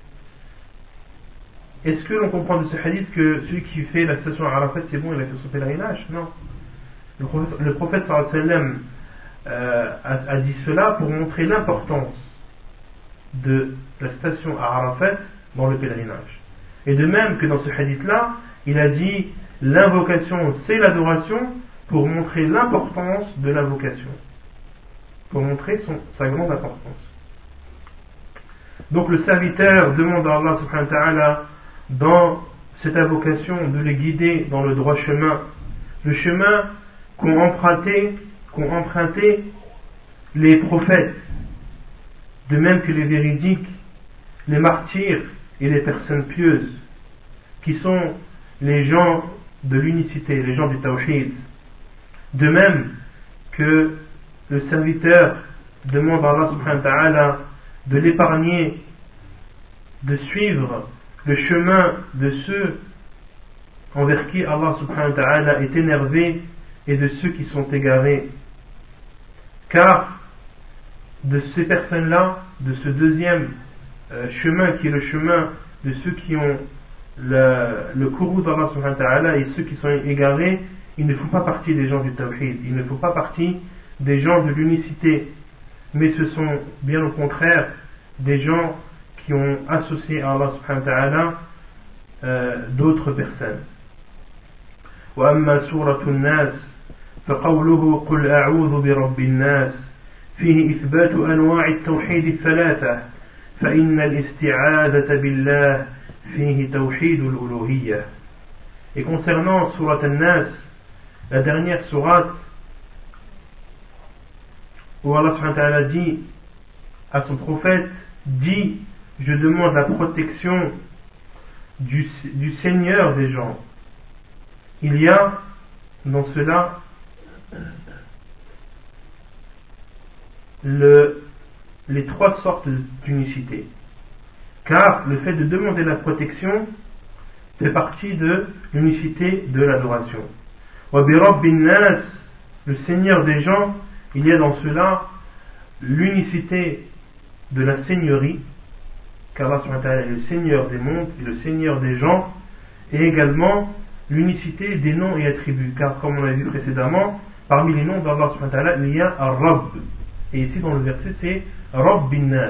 Est-ce que l'on comprend de ce hadith que celui qui fait la station à Arafat c'est bon, il a fait son pèlerinage? Non. Le prophète, le prophète sallallahu alayhi wa sallam euh, a, a dit cela pour montrer l'importance de la station à Arafat dans le pèlerinage. Et de même que dans ce hadith-là, il a dit l'invocation c'est l'adoration pour montrer l'importance de l'invocation, pour montrer son, sa grande importance. Donc le serviteur demande à Allah subhanahu wa ta'ala dans cette invocation de les guider dans le droit chemin, le chemin qu'ont emprunté, qu'ont emprunté les prophètes, de même que les véridiques, les martyrs et les personnes pieuses, qui sont les gens de l'unicité, les gens du tawhid. De même que le serviteur demande à Allah subhanahu wa ta'ala de l'épargner, de suivre le chemin de ceux envers qui Allah subhanahu wa ta'ala est énervé et de ceux qui sont égarés. Car de ces personnes-là, de ce deuxième euh, chemin qui est le chemin de ceux qui ont le, le courroux d'Allah subhanahu wa ta'ala et ceux qui sont égarés, ils ne font pas partie des gens du tawhid, ils ne font pas partie des gens de l'unicité, mais ce sont bien au contraire des gens qui ont associé à Allah subhanahu wa ta'ala euh, d'autres personnes. وأما سورة الناس فقوله قل أعوذ برب الناس فيه إثبات أنواع التوحيد الثلاثة فإن الاستعاذة بالله فيه توحيد الألوهية. Et concernant Surat An-Nas, la dernière sourate où Allah subhanahu wa ta'ala dit à son prophète, dit je demande la protection du, du Seigneur des gens. Il y a dans cela le, les trois sortes d'unicité, car le fait de demander la protection fait partie de l'unicité de l'adoration. Wa bi rabbin nas, le Seigneur des gens, il y a dans cela l'unicité de la seigneurie, car Allah subhanahu wa ta'ala est le Seigneur des mondes et le Seigneur des gens, et également l'unicité des noms et attributs, car comme on l'a vu précédemment, parmi les noms d'Allah subhanahu wa ta'ala, il y a Ar-Rabb, et ici dans le verset c'est Rabbin nas.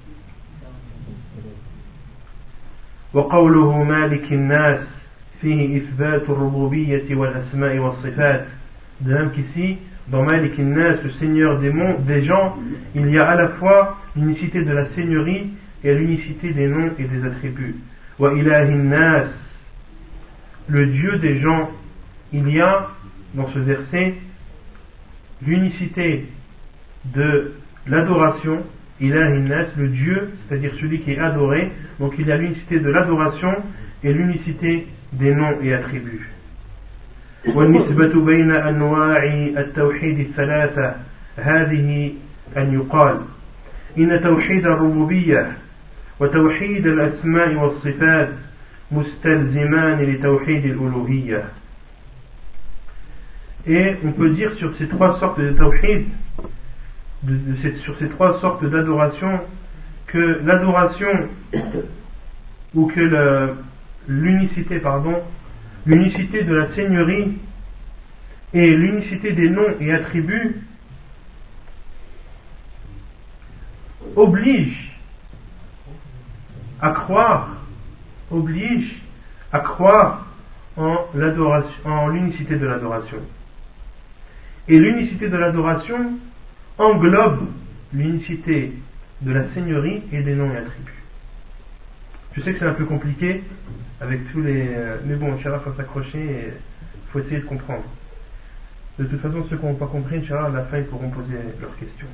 وقوله مالك الناس فيه إثبات الربوبية والأسماء والصفات. De même qu'ici, dans Malik al-Nas, le Seigneur des mondes, des gens, il y a à la fois l'unicité de la seigneurie et l'unicité des noms et des attributs. Wa ilahi nas, le Dieu des gens, il y a dans ce verset l'unicité de l'adoration, ilahi nas, le Dieu, c'est-à-dire celui qui est adoré, donc il y a l'unicité de l'adoration et l'unicité des noms et attributs. والنسبة بين أنواع التوحيد الثلاثة هذه أن يقال إن توحيد الربوبية وتوحيد الأسماء والصفات مستلزمان لتوحيد الألوهية. Et on peut dire sur ces trois sortes de tawhid, de, de cette, sur ces trois sortes d'adoration, que l'adoration ou que le, l'unicité, pardon, l'unicité de la seigneurie et l'unicité des noms et attributs obligent à croire, obligent à croire en l'adoration, en l'unicité de l'adoration. Et l'unicité de l'adoration englobe l'unicité de la seigneurie et des noms et attributs. Je sais que c'est un peu compliqué avec tous les... Mais bon, Inch'Allah, il faut s'accrocher et il faut essayer de comprendre. De toute façon, ceux qui n'ont pas compris, Inch'Allah, à la fin, ils pourront poser leurs questions.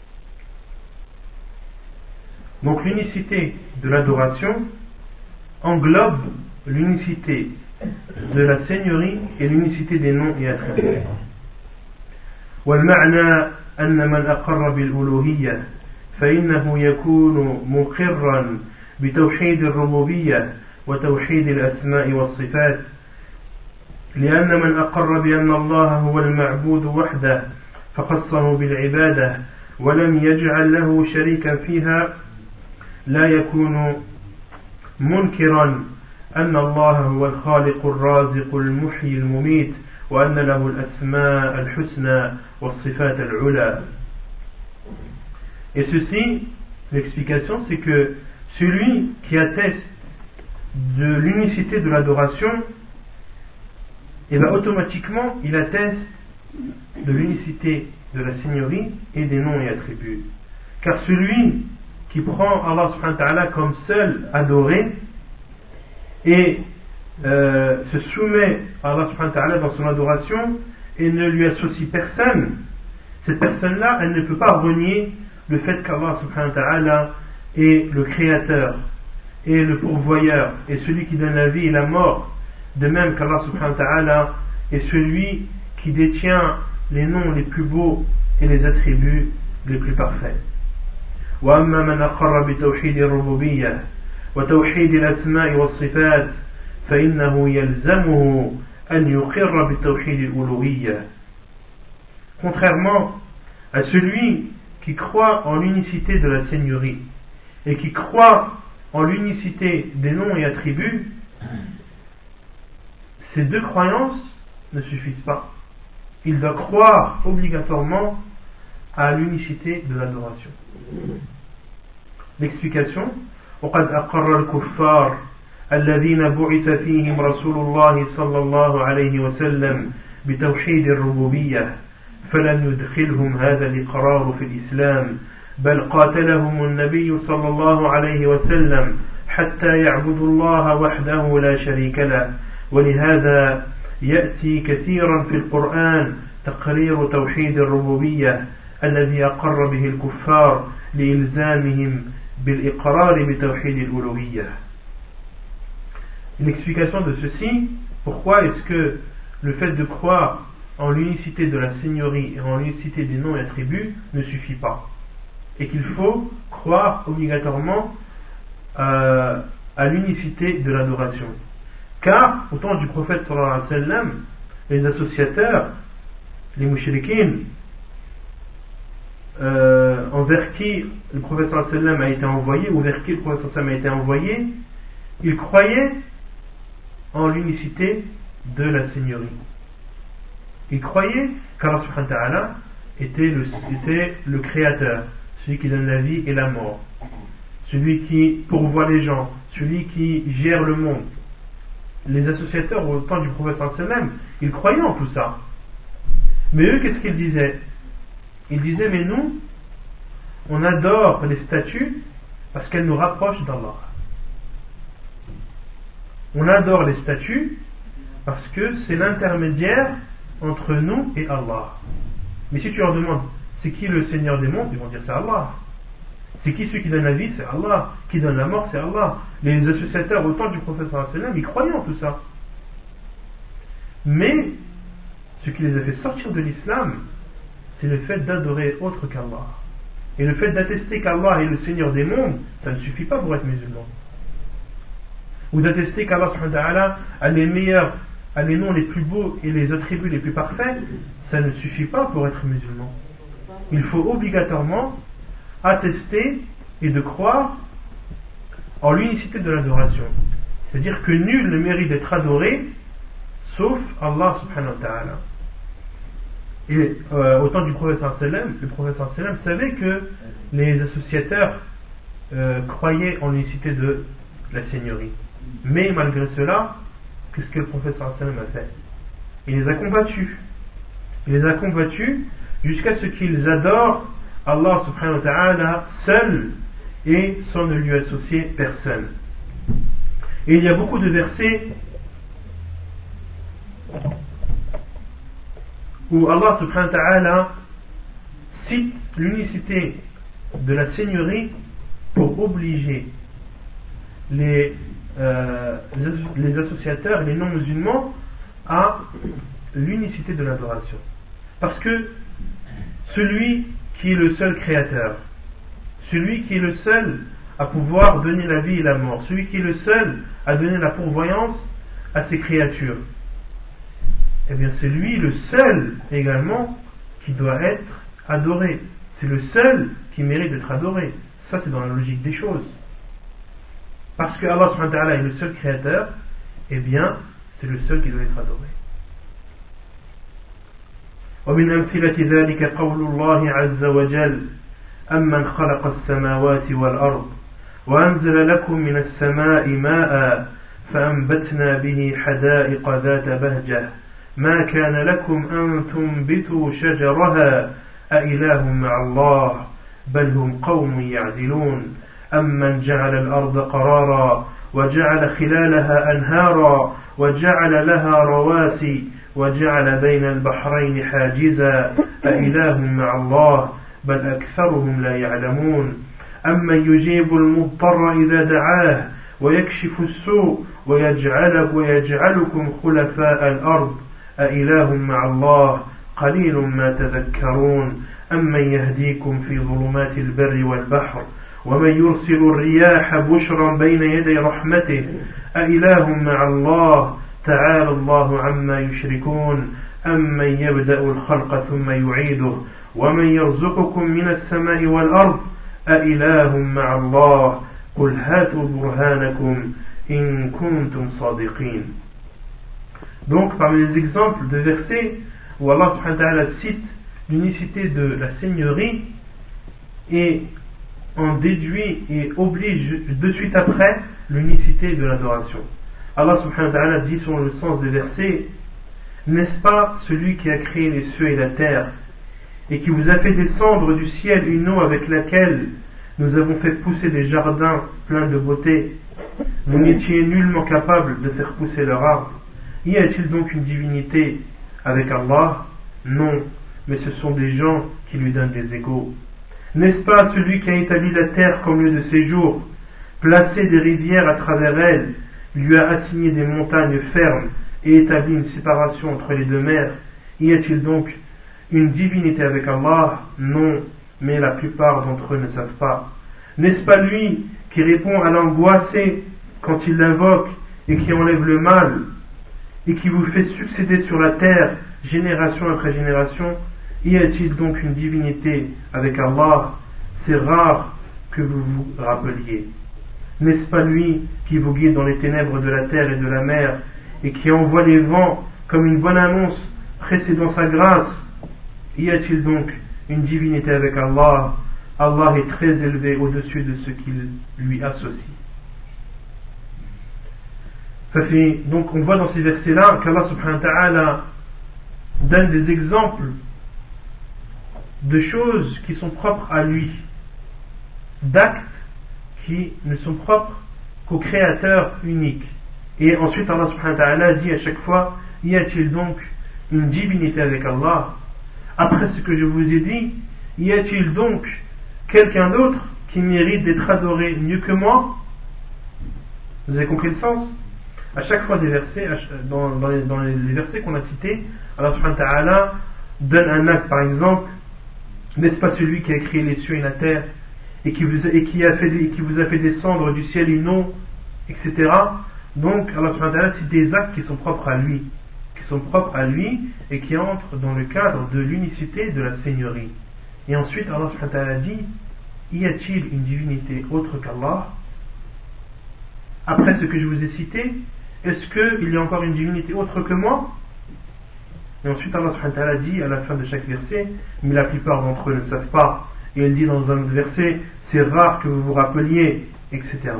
Donc, l'unicité de l'adoration englobe l'unicité de la seigneurie et l'unicité des noms et attributs. والمعنى أن من أقر بالألوهية فإنه يكون مقرا بتوحيد الربوبية وتوحيد الأسماء والصفات لأن من أقر بأن الله هو المعبود وحده فخصه بالعبادة ولم يجعل له شريكا فيها لا يكون منكرا أن الله هو الخالق الرازق المحيي المميت وأن له الأسماء الحسنى والصفات العلى. Et ceci, l'explication, c'est que celui qui atteste de l'unicité de l'adoration, et bien automatiquement il atteste de l'unicité de la Seigneurie et des noms et attributs. Car celui qui prend Allah subhanahu wa ta'ala comme seul adoré et euh, se soumet à Allah subhanahu wa ta'ala dans son adoration et ne lui associe personne, cette personne-là, elle ne peut pas renier le fait qu'Allah subhanahu wa ta'ala est le créateur et le pourvoyeur et celui qui donne la vie et la mort, de même qu'Allah subhanahu wa ta'ala est celui qui détient les noms les plus beaux et les attributs les plus parfaits. وأما من أقر بتوحيد الربوبية وتوحيد الأسماء والصفات فإنه يلزمه أن يقر بتوحيد الألوهية. Contrairement à celui qui croit en l'unicité de la Seigneurie et qui croit en l'unicité des noms et attributs, ces deux croyances ne suffisent pas. Il doit croire obligatoirement à l'unicité de l'adoration. L'explication: وقد أقر الكفار الذين بعث فيهم رسول الله صلى الله عليه وسلم بتوحيد الربوبية فلم يدخلهم هذا الإقرار في الإسلام بل قاتلهم النبي صلى الله عليه وسلم حتى يعبدوا الله وحده لا شريك له ولهذا يأتي كثيرا في القرآن تقرير توحيد الربوبية الذي أقر به الكفار لإلزامهم بالإقرار بتوحيد الألوهية. Une explication de ceci: pourquoi est-ce que le fait de croire en l'unicité de la Seigneurie et en l'unicité des noms et attributs ne suffit pas, et qu'il faut croire obligatoirement euh, à l'unicité de l'adoration. Car au temps du prophète sallallahu alayhi wa sallam, les associateurs, les mouchriquins, euh, envers qui le prophète sallallahu alayhi wa sallam a été envoyé, ou vers qui le prophète sallallahu alayhi wa sallam a été envoyé, ils croyaient en l'unicité de la Seigneurie. Ils croyaient qu'Allah subhanahu wa ta'ala était le, était le créateur, celui qui donne la vie et la mort, celui qui pourvoit les gens, celui qui gère le monde. Les associateurs au temps du prophète sallallahu alayhi wa sallam, ils croyaient en tout ça. Mais eux, qu'est-ce qu'ils disaient? Ils disaient: mais nous, on adore les statues parce qu'elles nous rapprochent d'Allah. On adore les statues parce que c'est l'intermédiaire entre nous et Allah. Mais si tu leur demandes c'est qui le Seigneur des mondes, ils vont dire c'est Allah. C'est qui celui qui donne la vie? C'est Allah. Qui donne la mort? C'est Allah. Les associateurs au temps du prophète sallallahu alayhi wa sallam, ils croyaient en tout ça. Mais ce qui les a fait sortir de l'islam, c'est le fait d'adorer autre qu'Allah. Et le fait d'attester qu'Allah est le Seigneur des mondes, ça ne suffit pas pour être musulman. Ou d'attester qu'Allah subhanahu wa ta'ala a les meilleurs, a les noms les plus beaux et les attributs les plus parfaits, ça ne suffit pas pour être musulman. Il faut obligatoirement attester et de croire en l'unicité de l'adoration. C'est-à-dire que nul ne mérite d'être adoré sauf Allah subhanahu wa ta'ala. Et euh, au temps du prophète sallallahu alayhi wa sallam, le prophète sallallahu alayhi wa sallam savait que les associateurs euh, croyaient en l'unicité de la Seigneurie. Mais malgré cela, qu'est-ce que le prophète sallallahu alayhi wa sallam a fait? Il les a combattus. Il les a combattus jusqu'à ce qu'ils adorent Allah subhanahu wa ta'ala seul et sans ne lui associer personne. Et il y a beaucoup de versets où Allah subhanahu wa ta'ala cite l'unicité de la Seigneurie pour obliger les, euh, les associateurs et les non-musulmans à l'unicité de l'adoration. Parce que celui qui est le seul créateur, celui qui est le seul à pouvoir donner la vie et la mort, celui qui est le seul à donner la pourvoyance à ses créatures. Eh bien, c'est lui le seul également qui doit être adoré. C'est le seul qui mérite d'être adoré. Ça, c'est dans la logique des choses. Parce que Allah subhanahu wa ta'ala est le seul créateur, eh bien, c'est le seul qui doit être adoré. ومن أمثلة ذلك قول الله عز وجل أمن خلق السماوات والأرض وأنزل لكم من السماء ماء فأنبتنا به حدائق ذات بهجة ما كان لكم أن تنبتوا شجرها أإله مع الله بل هم قوم يعدلون أمن جعل الأرض قرارا وجعل خلالها أنهارا وجعل لها رواسي وجعل بين البحرين حاجزا أإله مع الله بل أكثرهم لا يعلمون أمن يجيب المضطر إذا دعاه ويكشف السوء ويجعل ويجعلكم خلفاء الأرض أإله مع الله قليل ما تذكرون أمن يهديكم في ظلمات البر والبحر ومن يرسل الرياح بشرا بين يدي رحمته أإله مع الله تعالى الله عما يشركون أمن يبدأ الخلق ثم يعيده ومن يرزقكم من السماء والأرض أإله مع الله قل هاتوا برهانكم إن كنتم صادقين. Donc parmi les exemples de versets où Allah subhanahu wa ta'ala cite l'unicité de la seigneurie et en déduit et oblige de suite après l'unicité de l'adoration. Allah subhanahu wa ta'ala dit selon le sens des versets: n'est-ce pas celui qui a créé les cieux et la terre et qui vous a fait descendre du ciel une eau avec laquelle nous avons fait pousser des jardins pleins de beauté? Vous n'étiez nullement capable de faire pousser leur arbre. Y a-t-il donc une divinité avec Allah? Non, mais ce sont des gens qui lui donnent des égaux. N'est-ce pas celui qui a établi la terre comme lieu de séjour, placé des rivières à travers elle, lui a assigné des montagnes fermes et établi une séparation entre les deux mers? Y a-t-il donc une divinité avec Allah? Non, mais la plupart d'entre eux ne savent pas. N'est-ce pas lui qui répond à l'angoissé quand il l'invoque et qui enlève le mal et qui vous fait succéder sur la terre génération après génération? Y a-t-il donc une divinité avec Allah? C'est rare que vous vous rappeliez. N'est-ce pas lui qui vous guide dans les ténèbres de la terre et de la mer et qui envoie les vents comme une bonne annonce précédant sa grâce? Y a-t-il donc une divinité avec Allah? Allah est très élevé au-dessus de ce qu'il lui associe. Donc on voit dans ces versets-là qu'Allah subhanahu wa ta'ala donne des exemples de choses qui sont propres à lui, d'actes qui ne sont propres qu'au Créateur unique. Et ensuite Allah subhanahu wa ta'ala dit à chaque fois: y a-t-il donc une divinité avec Allah? Après ce que je vous ai dit, y a-t-il donc quelqu'un d'autre qui mérite d'être adoré mieux que moi? Vous avez compris le sens? À chaque fois des versets, dans, dans, les, dans les versets qu'on a cités, Allah subhanahu wa ta'ala donne un acte. Par exemple, n'est-ce pas celui qui a créé les cieux et la terre et qui vous a, et qui a fait, et qui vous a fait descendre du ciel une eau, et cetera. Donc Allah subhanahu wa ta'ala cite des actes qui sont propres à lui, qui sont propres à lui et qui entrent dans le cadre de l'unicité de la seigneurie. Et ensuite Allah subhanahu wa ta'ala dit: y a-t-il une divinité autre qu'Allah? Après ce que je vous ai cité, est-ce qu'il y a encore une divinité autre que moi? Et ensuite Allah subhanahu wa ta'ala dit à la fin de chaque verset: mais la plupart d'entre eux ne savent pas. Et il dit dans un verset: c'est rare que vous vous rappeliez, et cetera.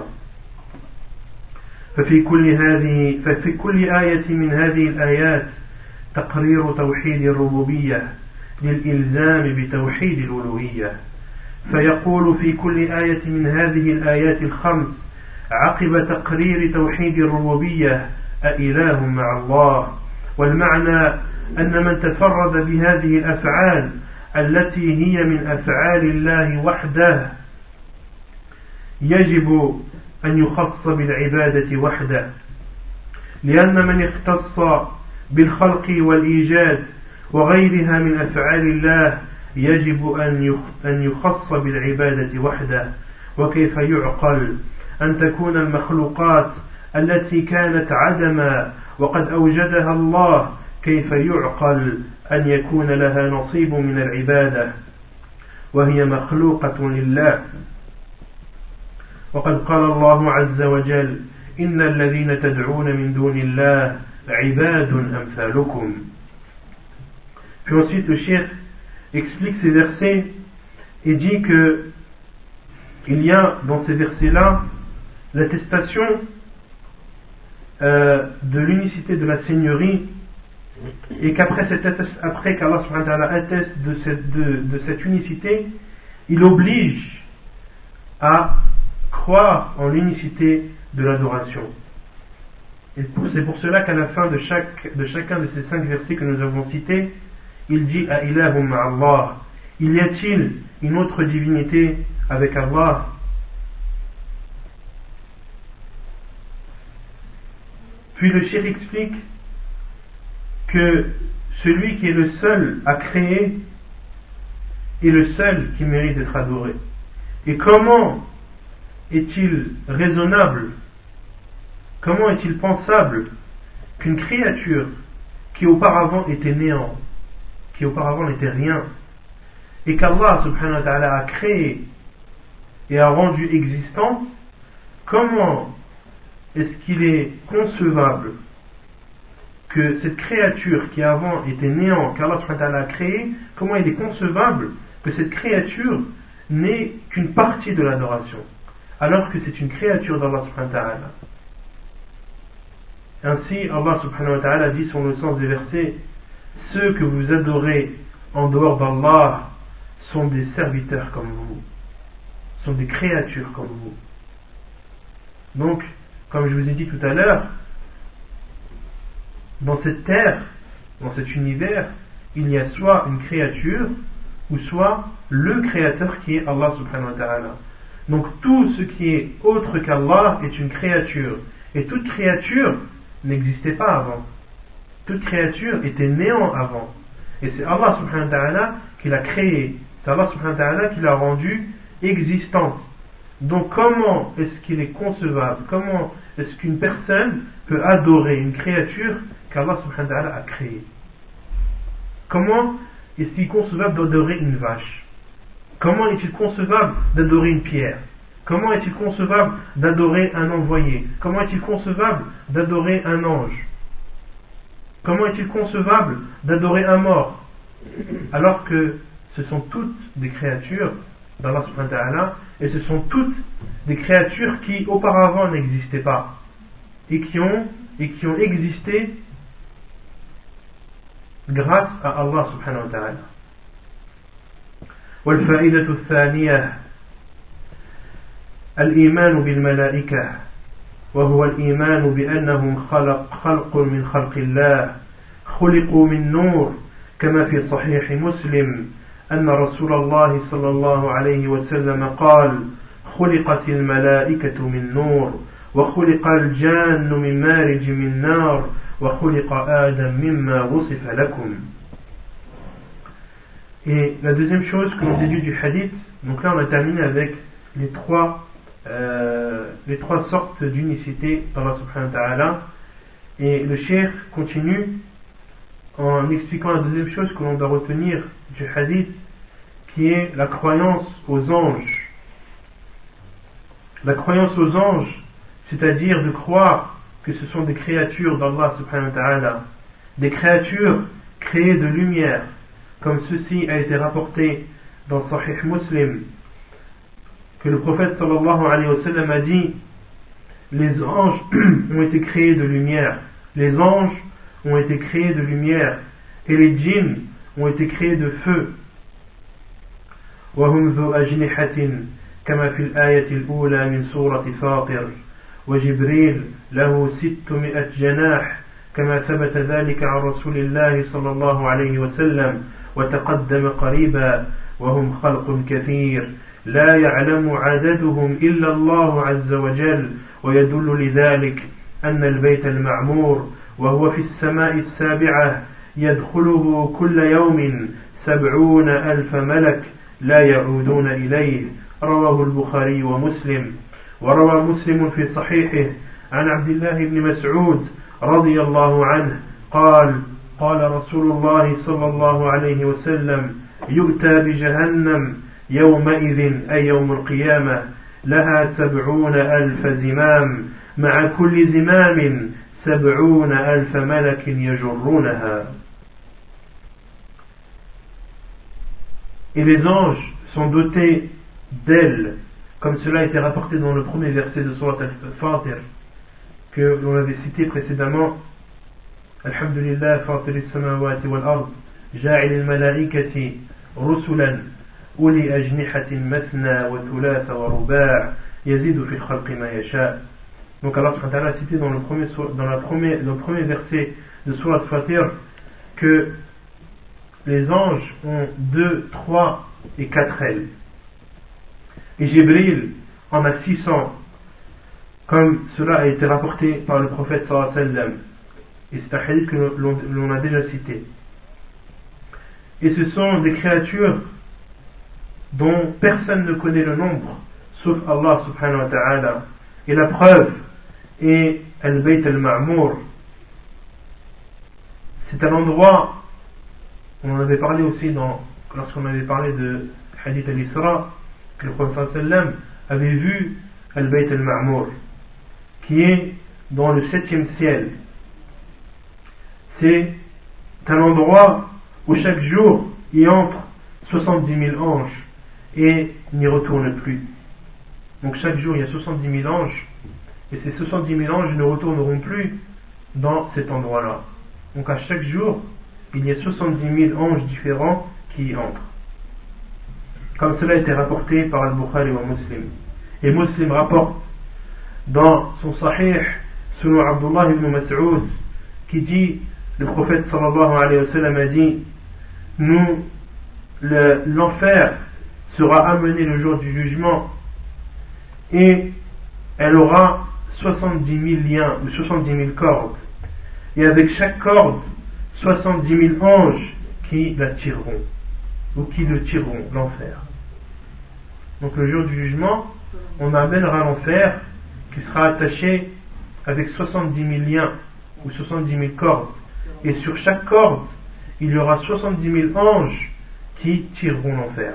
ففي كل هذه ففي كل آية من هذه الآيات تقرير توحيد الربوبية للإلزام بتوحيد الألوهية. فيقول في كل آية من هذه الآيات الخمس عقب تقرير توحيد الربوبية: أإله مع الله. والمعنى أن من تفرد بهذه الأفعال التي هي من أفعال الله وحده يجب أن يخص بالعبادة وحده، لأن من اختص بالخلق والإيجاد وغيرها من أفعال الله يجب أن يخص بالعبادة وحده وكيف يعقل أن تكون المخلوقات التي كانت عدما وقد أوجدها الله كيف يعقل أن يكون لها نصيب من العبادة وهي مخلوقة لله وقد قال الله عز وجل إن الذين تدعون من دون الله عباد أمثالكم. Puis ensuite le cheikh explique ces versets et dit que il y a dans ces versets-là l'attestation euh, de l'unicité de la Seigneurie et qu'après cette attest- après qu'Allah subhanahu wa ta'ala atteste de cette, de, de cette unicité, il oblige à croire en l'unicité de l'adoration. Et pour, c'est pour cela qu'à la fin de, chaque, de chacun de ces cinq versets que nous avons cités, il dit à ilahum ma'allah, il y a-t-il une autre divinité avec Allah? Puis le cheikh explique que celui qui est le seul à créer est le seul qui mérite d'être adoré. Et comment est-il raisonnable, comment est-il pensable qu'une créature qui auparavant était néant, qui auparavant n'était rien, et qu'Allah subhanahu wa ta'ala a créé et a rendu existant, comment est-ce qu'il est concevable que cette créature qui avant était néant, qu'Allah subhanahu wa ta'ala a créé, comment il est concevable que cette créature n'est qu'une partie de l'adoration, alors que c'est une créature d'Allah subhanahu wa ta'ala. Ainsi, Allah subhanahu wa ta'ala dit sur le sens des versets, ceux que vous adorez en dehors d'Allah sont des serviteurs comme vous, sont des créatures comme vous. Donc, comme je vous ai dit tout à l'heure, dans cette terre, dans cet univers, il y a soit une créature ou soit le créateur qui est Allah subhanahu wa ta'ala. Donc tout ce qui est autre qu'Allah est une créature, et toute créature n'existait pas avant, toute créature était néant avant, et c'est Allah subhanahu wa ta'ala qui l'a créé, c'est Allah subhanahu wa ta'ala qui l'a rendu existante. Donc comment est-ce qu'il est concevable, comment est-ce qu'une personne peut adorer une créature qu'Allah subhanahu wa ta'ala a créée? Comment est-il concevable d'adorer une vache? Comment est-il concevable d'adorer une pierre? Comment est-il concevable d'adorer un envoyé? Comment est-il concevable d'adorer un ange? Comment est-il concevable d'adorer un mort? Alors que ce sont toutes des créatures d'Allah subhanahu wa ta'ala, et ce sont toutes des créatures qui auparavant n'existaient pas et qui ont, et qui ont existé grâce à Allah subhanahu wa ta'ala. والفائدة الثانية الإيمان بالملائكة وهو الإيمان بأنهم خلق خلق من خلق الله خلقوا من نور كما في صحيح مسلم أن رسول الله صلى الله عليه وسلم قال خلقت الملائكة من نور وخلق الجان من مارج من نار وخلق آدم مما وصف لكم. Et la deuxième chose que l'on déduit du hadith, donc là on a terminé avec les trois, euh, les trois sortes d'unicité d'Allah subhanahu wa ta'ala, et le cheikh continue en expliquant la deuxième chose que l'on doit retenir du hadith, qui est la croyance aux anges. La croyance aux anges, c'est-à-dire de croire que ce sont des créatures d'Allah subhanahu wa ta'ala, des créatures créées de lumière, comme ceci a été rapporté dans Sahih Muslim, que le prophète sallallahu alayhi wa sallam a dit: les anges ont été créés de lumière, les anges ont été créés de lumière, et les djinns ont été créés de feu. وهم ذو أجنحة كما في الآية الأولى من سورة فاطر وجبريل له ستمائة جناح كما ثبت ذلك عن رسول الله صلى الله عليه وسلم وتقدم قريبا وهم خلق كثير لا يعلم عددهم إلا الله عز وجل ويدل لذلك أن البيت المعمور وهو في السماء السابعة يدخله كل يوم سبعون ألف ملك لا يعودون إليه رواه البخاري ومسلم وروى مسلم في صحيحه عن عبد الله بن مسعود رضي الله عنه قال قال رسول الله صلى الله عليه وسلم يؤتى بجهنم يومئذ أي يوم القيامة لها سبعون ألف زمام مع كل زمام سبعون ألف ملك يجرونها. Et les anges sont dotés d'ailes, comme cela a été rapporté dans le premier verset de Surat Al-Fatir, que l'on avait cité précédemment. Alhamdulillah, Fatir as-samawati wal-ard, ja'il al-malaikati rusulan, uli ajnihatin mathna wa thulatha wa ruba' yazidu fi al-khalqi ma yasha'. Donc Allah subhanahu wa ta'ala a cité dans le premier, dans la premier, dans le premier verset de Surat Al-Fatir que les anges ont deux, trois et quatre ailes. Et Jibril en a six cents, comme cela a été rapporté par le prophète sallallahu alayhi wa sallam. Et c'est un hadith que l'on, l'on a déjà cité. Et ce sont des créatures dont personne ne connaît le nombre, sauf Allah subhanahu wa ta'ala. Et la preuve est Al-Bayt al-Ma'mour. C'est un endroit, on en avait parlé aussi dans, lorsqu'on avait parlé de Hadith al-Isra, que le prophète sallam avait vu Al-Bayt al-Ma'mour, qui est dans le septième ciel. C'est un endroit où chaque jour y entre soixante-dix mille anges et n'y retournent plus. Donc chaque jour il y a soixante-dix mille anges et ces soixante-dix mille anges ne retourneront plus dans cet endroit-là. Donc à chaque jour il y a soixante-dix mille anges différents qui y entrent. Comme cela a été rapporté par Al-Bukhari wa Muslim. Et Muslim rapporte dans son Sahih selon Abdullah ibn Mas'ud qui dit, le prophète sallallahu alayhi wa sallam a dit, nous, le, l'enfer sera amené le jour du jugement et elle aura soixante-dix mille liens ou soixante-dix mille cordes, et avec chaque corde soixante-dix mille anges qui la tireront ou qui le tireront, l'enfer. Donc le jour du jugement on amènera l'enfer qui sera attaché avec soixante-dix mille liens ou soixante-dix mille cordes, et sur chaque corde il y aura soixante-dix mille anges qui tireront l'enfer.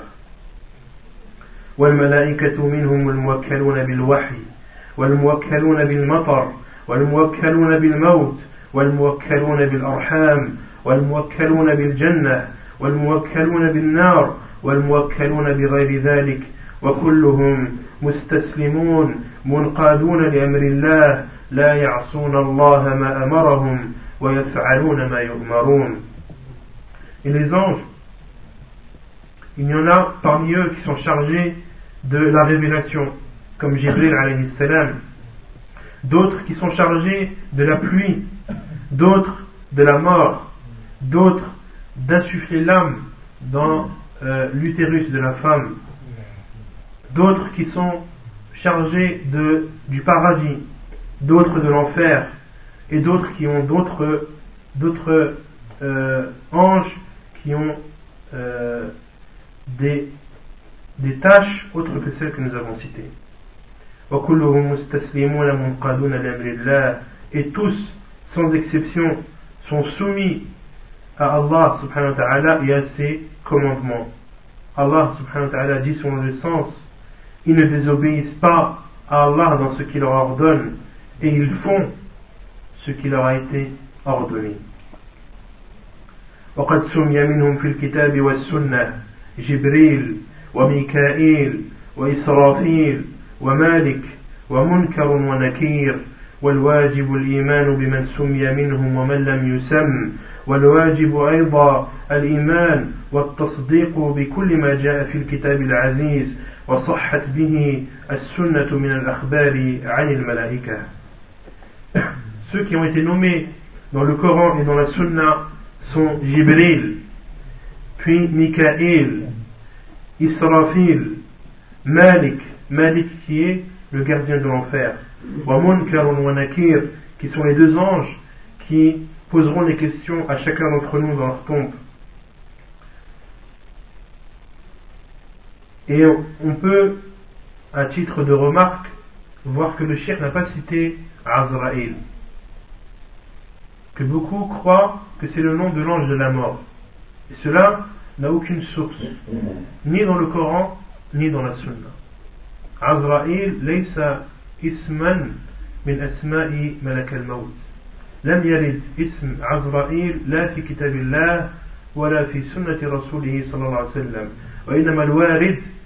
والملائكة منهم الموكلون بالوحي والموكلون بالمطر والموكلون بالموت والموكلون بالأرحام والموكلون بالجنة والموكلون بالنار والموكلون بغير ذلك وكلهم مستسلمون منقادون لأمر الله لا يعصون الله ما أمرهم ويفعلون ما يؤمرون. Et les anges, il y en a parmi eux qui sont chargés de la révélation, comme Jibril alayhi salam, d'autres qui sont chargés de la pluie, d'autres de la mort, d'autres d'insuffler l'âme dans euh, l'utérus de la femme, d'autres qui sont chargés de, du paradis, d'autres de l'enfer, et d'autres qui ont d'autres, d'autres euh, anges qui ont euh, des, des tâches autres que celles que nous avons citées. Et tous, sans exception, sont soumis à Allah subhanahu wa ta'ala et à ses commandements. Allah subhanahu wa ta'ala dit selon le sens, ils ne désobéissent pas à Allah dans ce qu'il leur ordonne, et ils font ce qui leur a été ordonné. وقد سمي منهم في الكتاب والسنة جبريل وميكائيل وإسرافيل ومالك ومنكر ونكير والواجب الإيمان بمن سمي منهم ومن لم يسم والواجب أيضا الإيمان والتصديق بكل ما جاء في الكتاب العزيز وصحت به السنة من الأخبار عن الملائكة. Ceux qui ont été nommés dans le Coran et dans la Sunna sont Jibril, puis Mikaël, Israfil, Malik, Malik qui est le gardien de l'enfer, wa Munkar wa Nakir, qui sont les deux anges qui poseront les questions à chacun d'entre nous dans leur tombe. Et on peut, à titre de remarque, voir que le cheikh n'a pas cité Azraïl, que beaucoup croient que c'est le nom de l'ange de la mort. Et cela n'a aucune source, ni dans le Coran, ni dans la Sunna. Azraïl laysa isman min asma'i malak al-maut. لم يرد اسم عزرائيل لا في كتاب الله ولا في سنة رسوله صلى الله عليه وسلم وإنما الوارد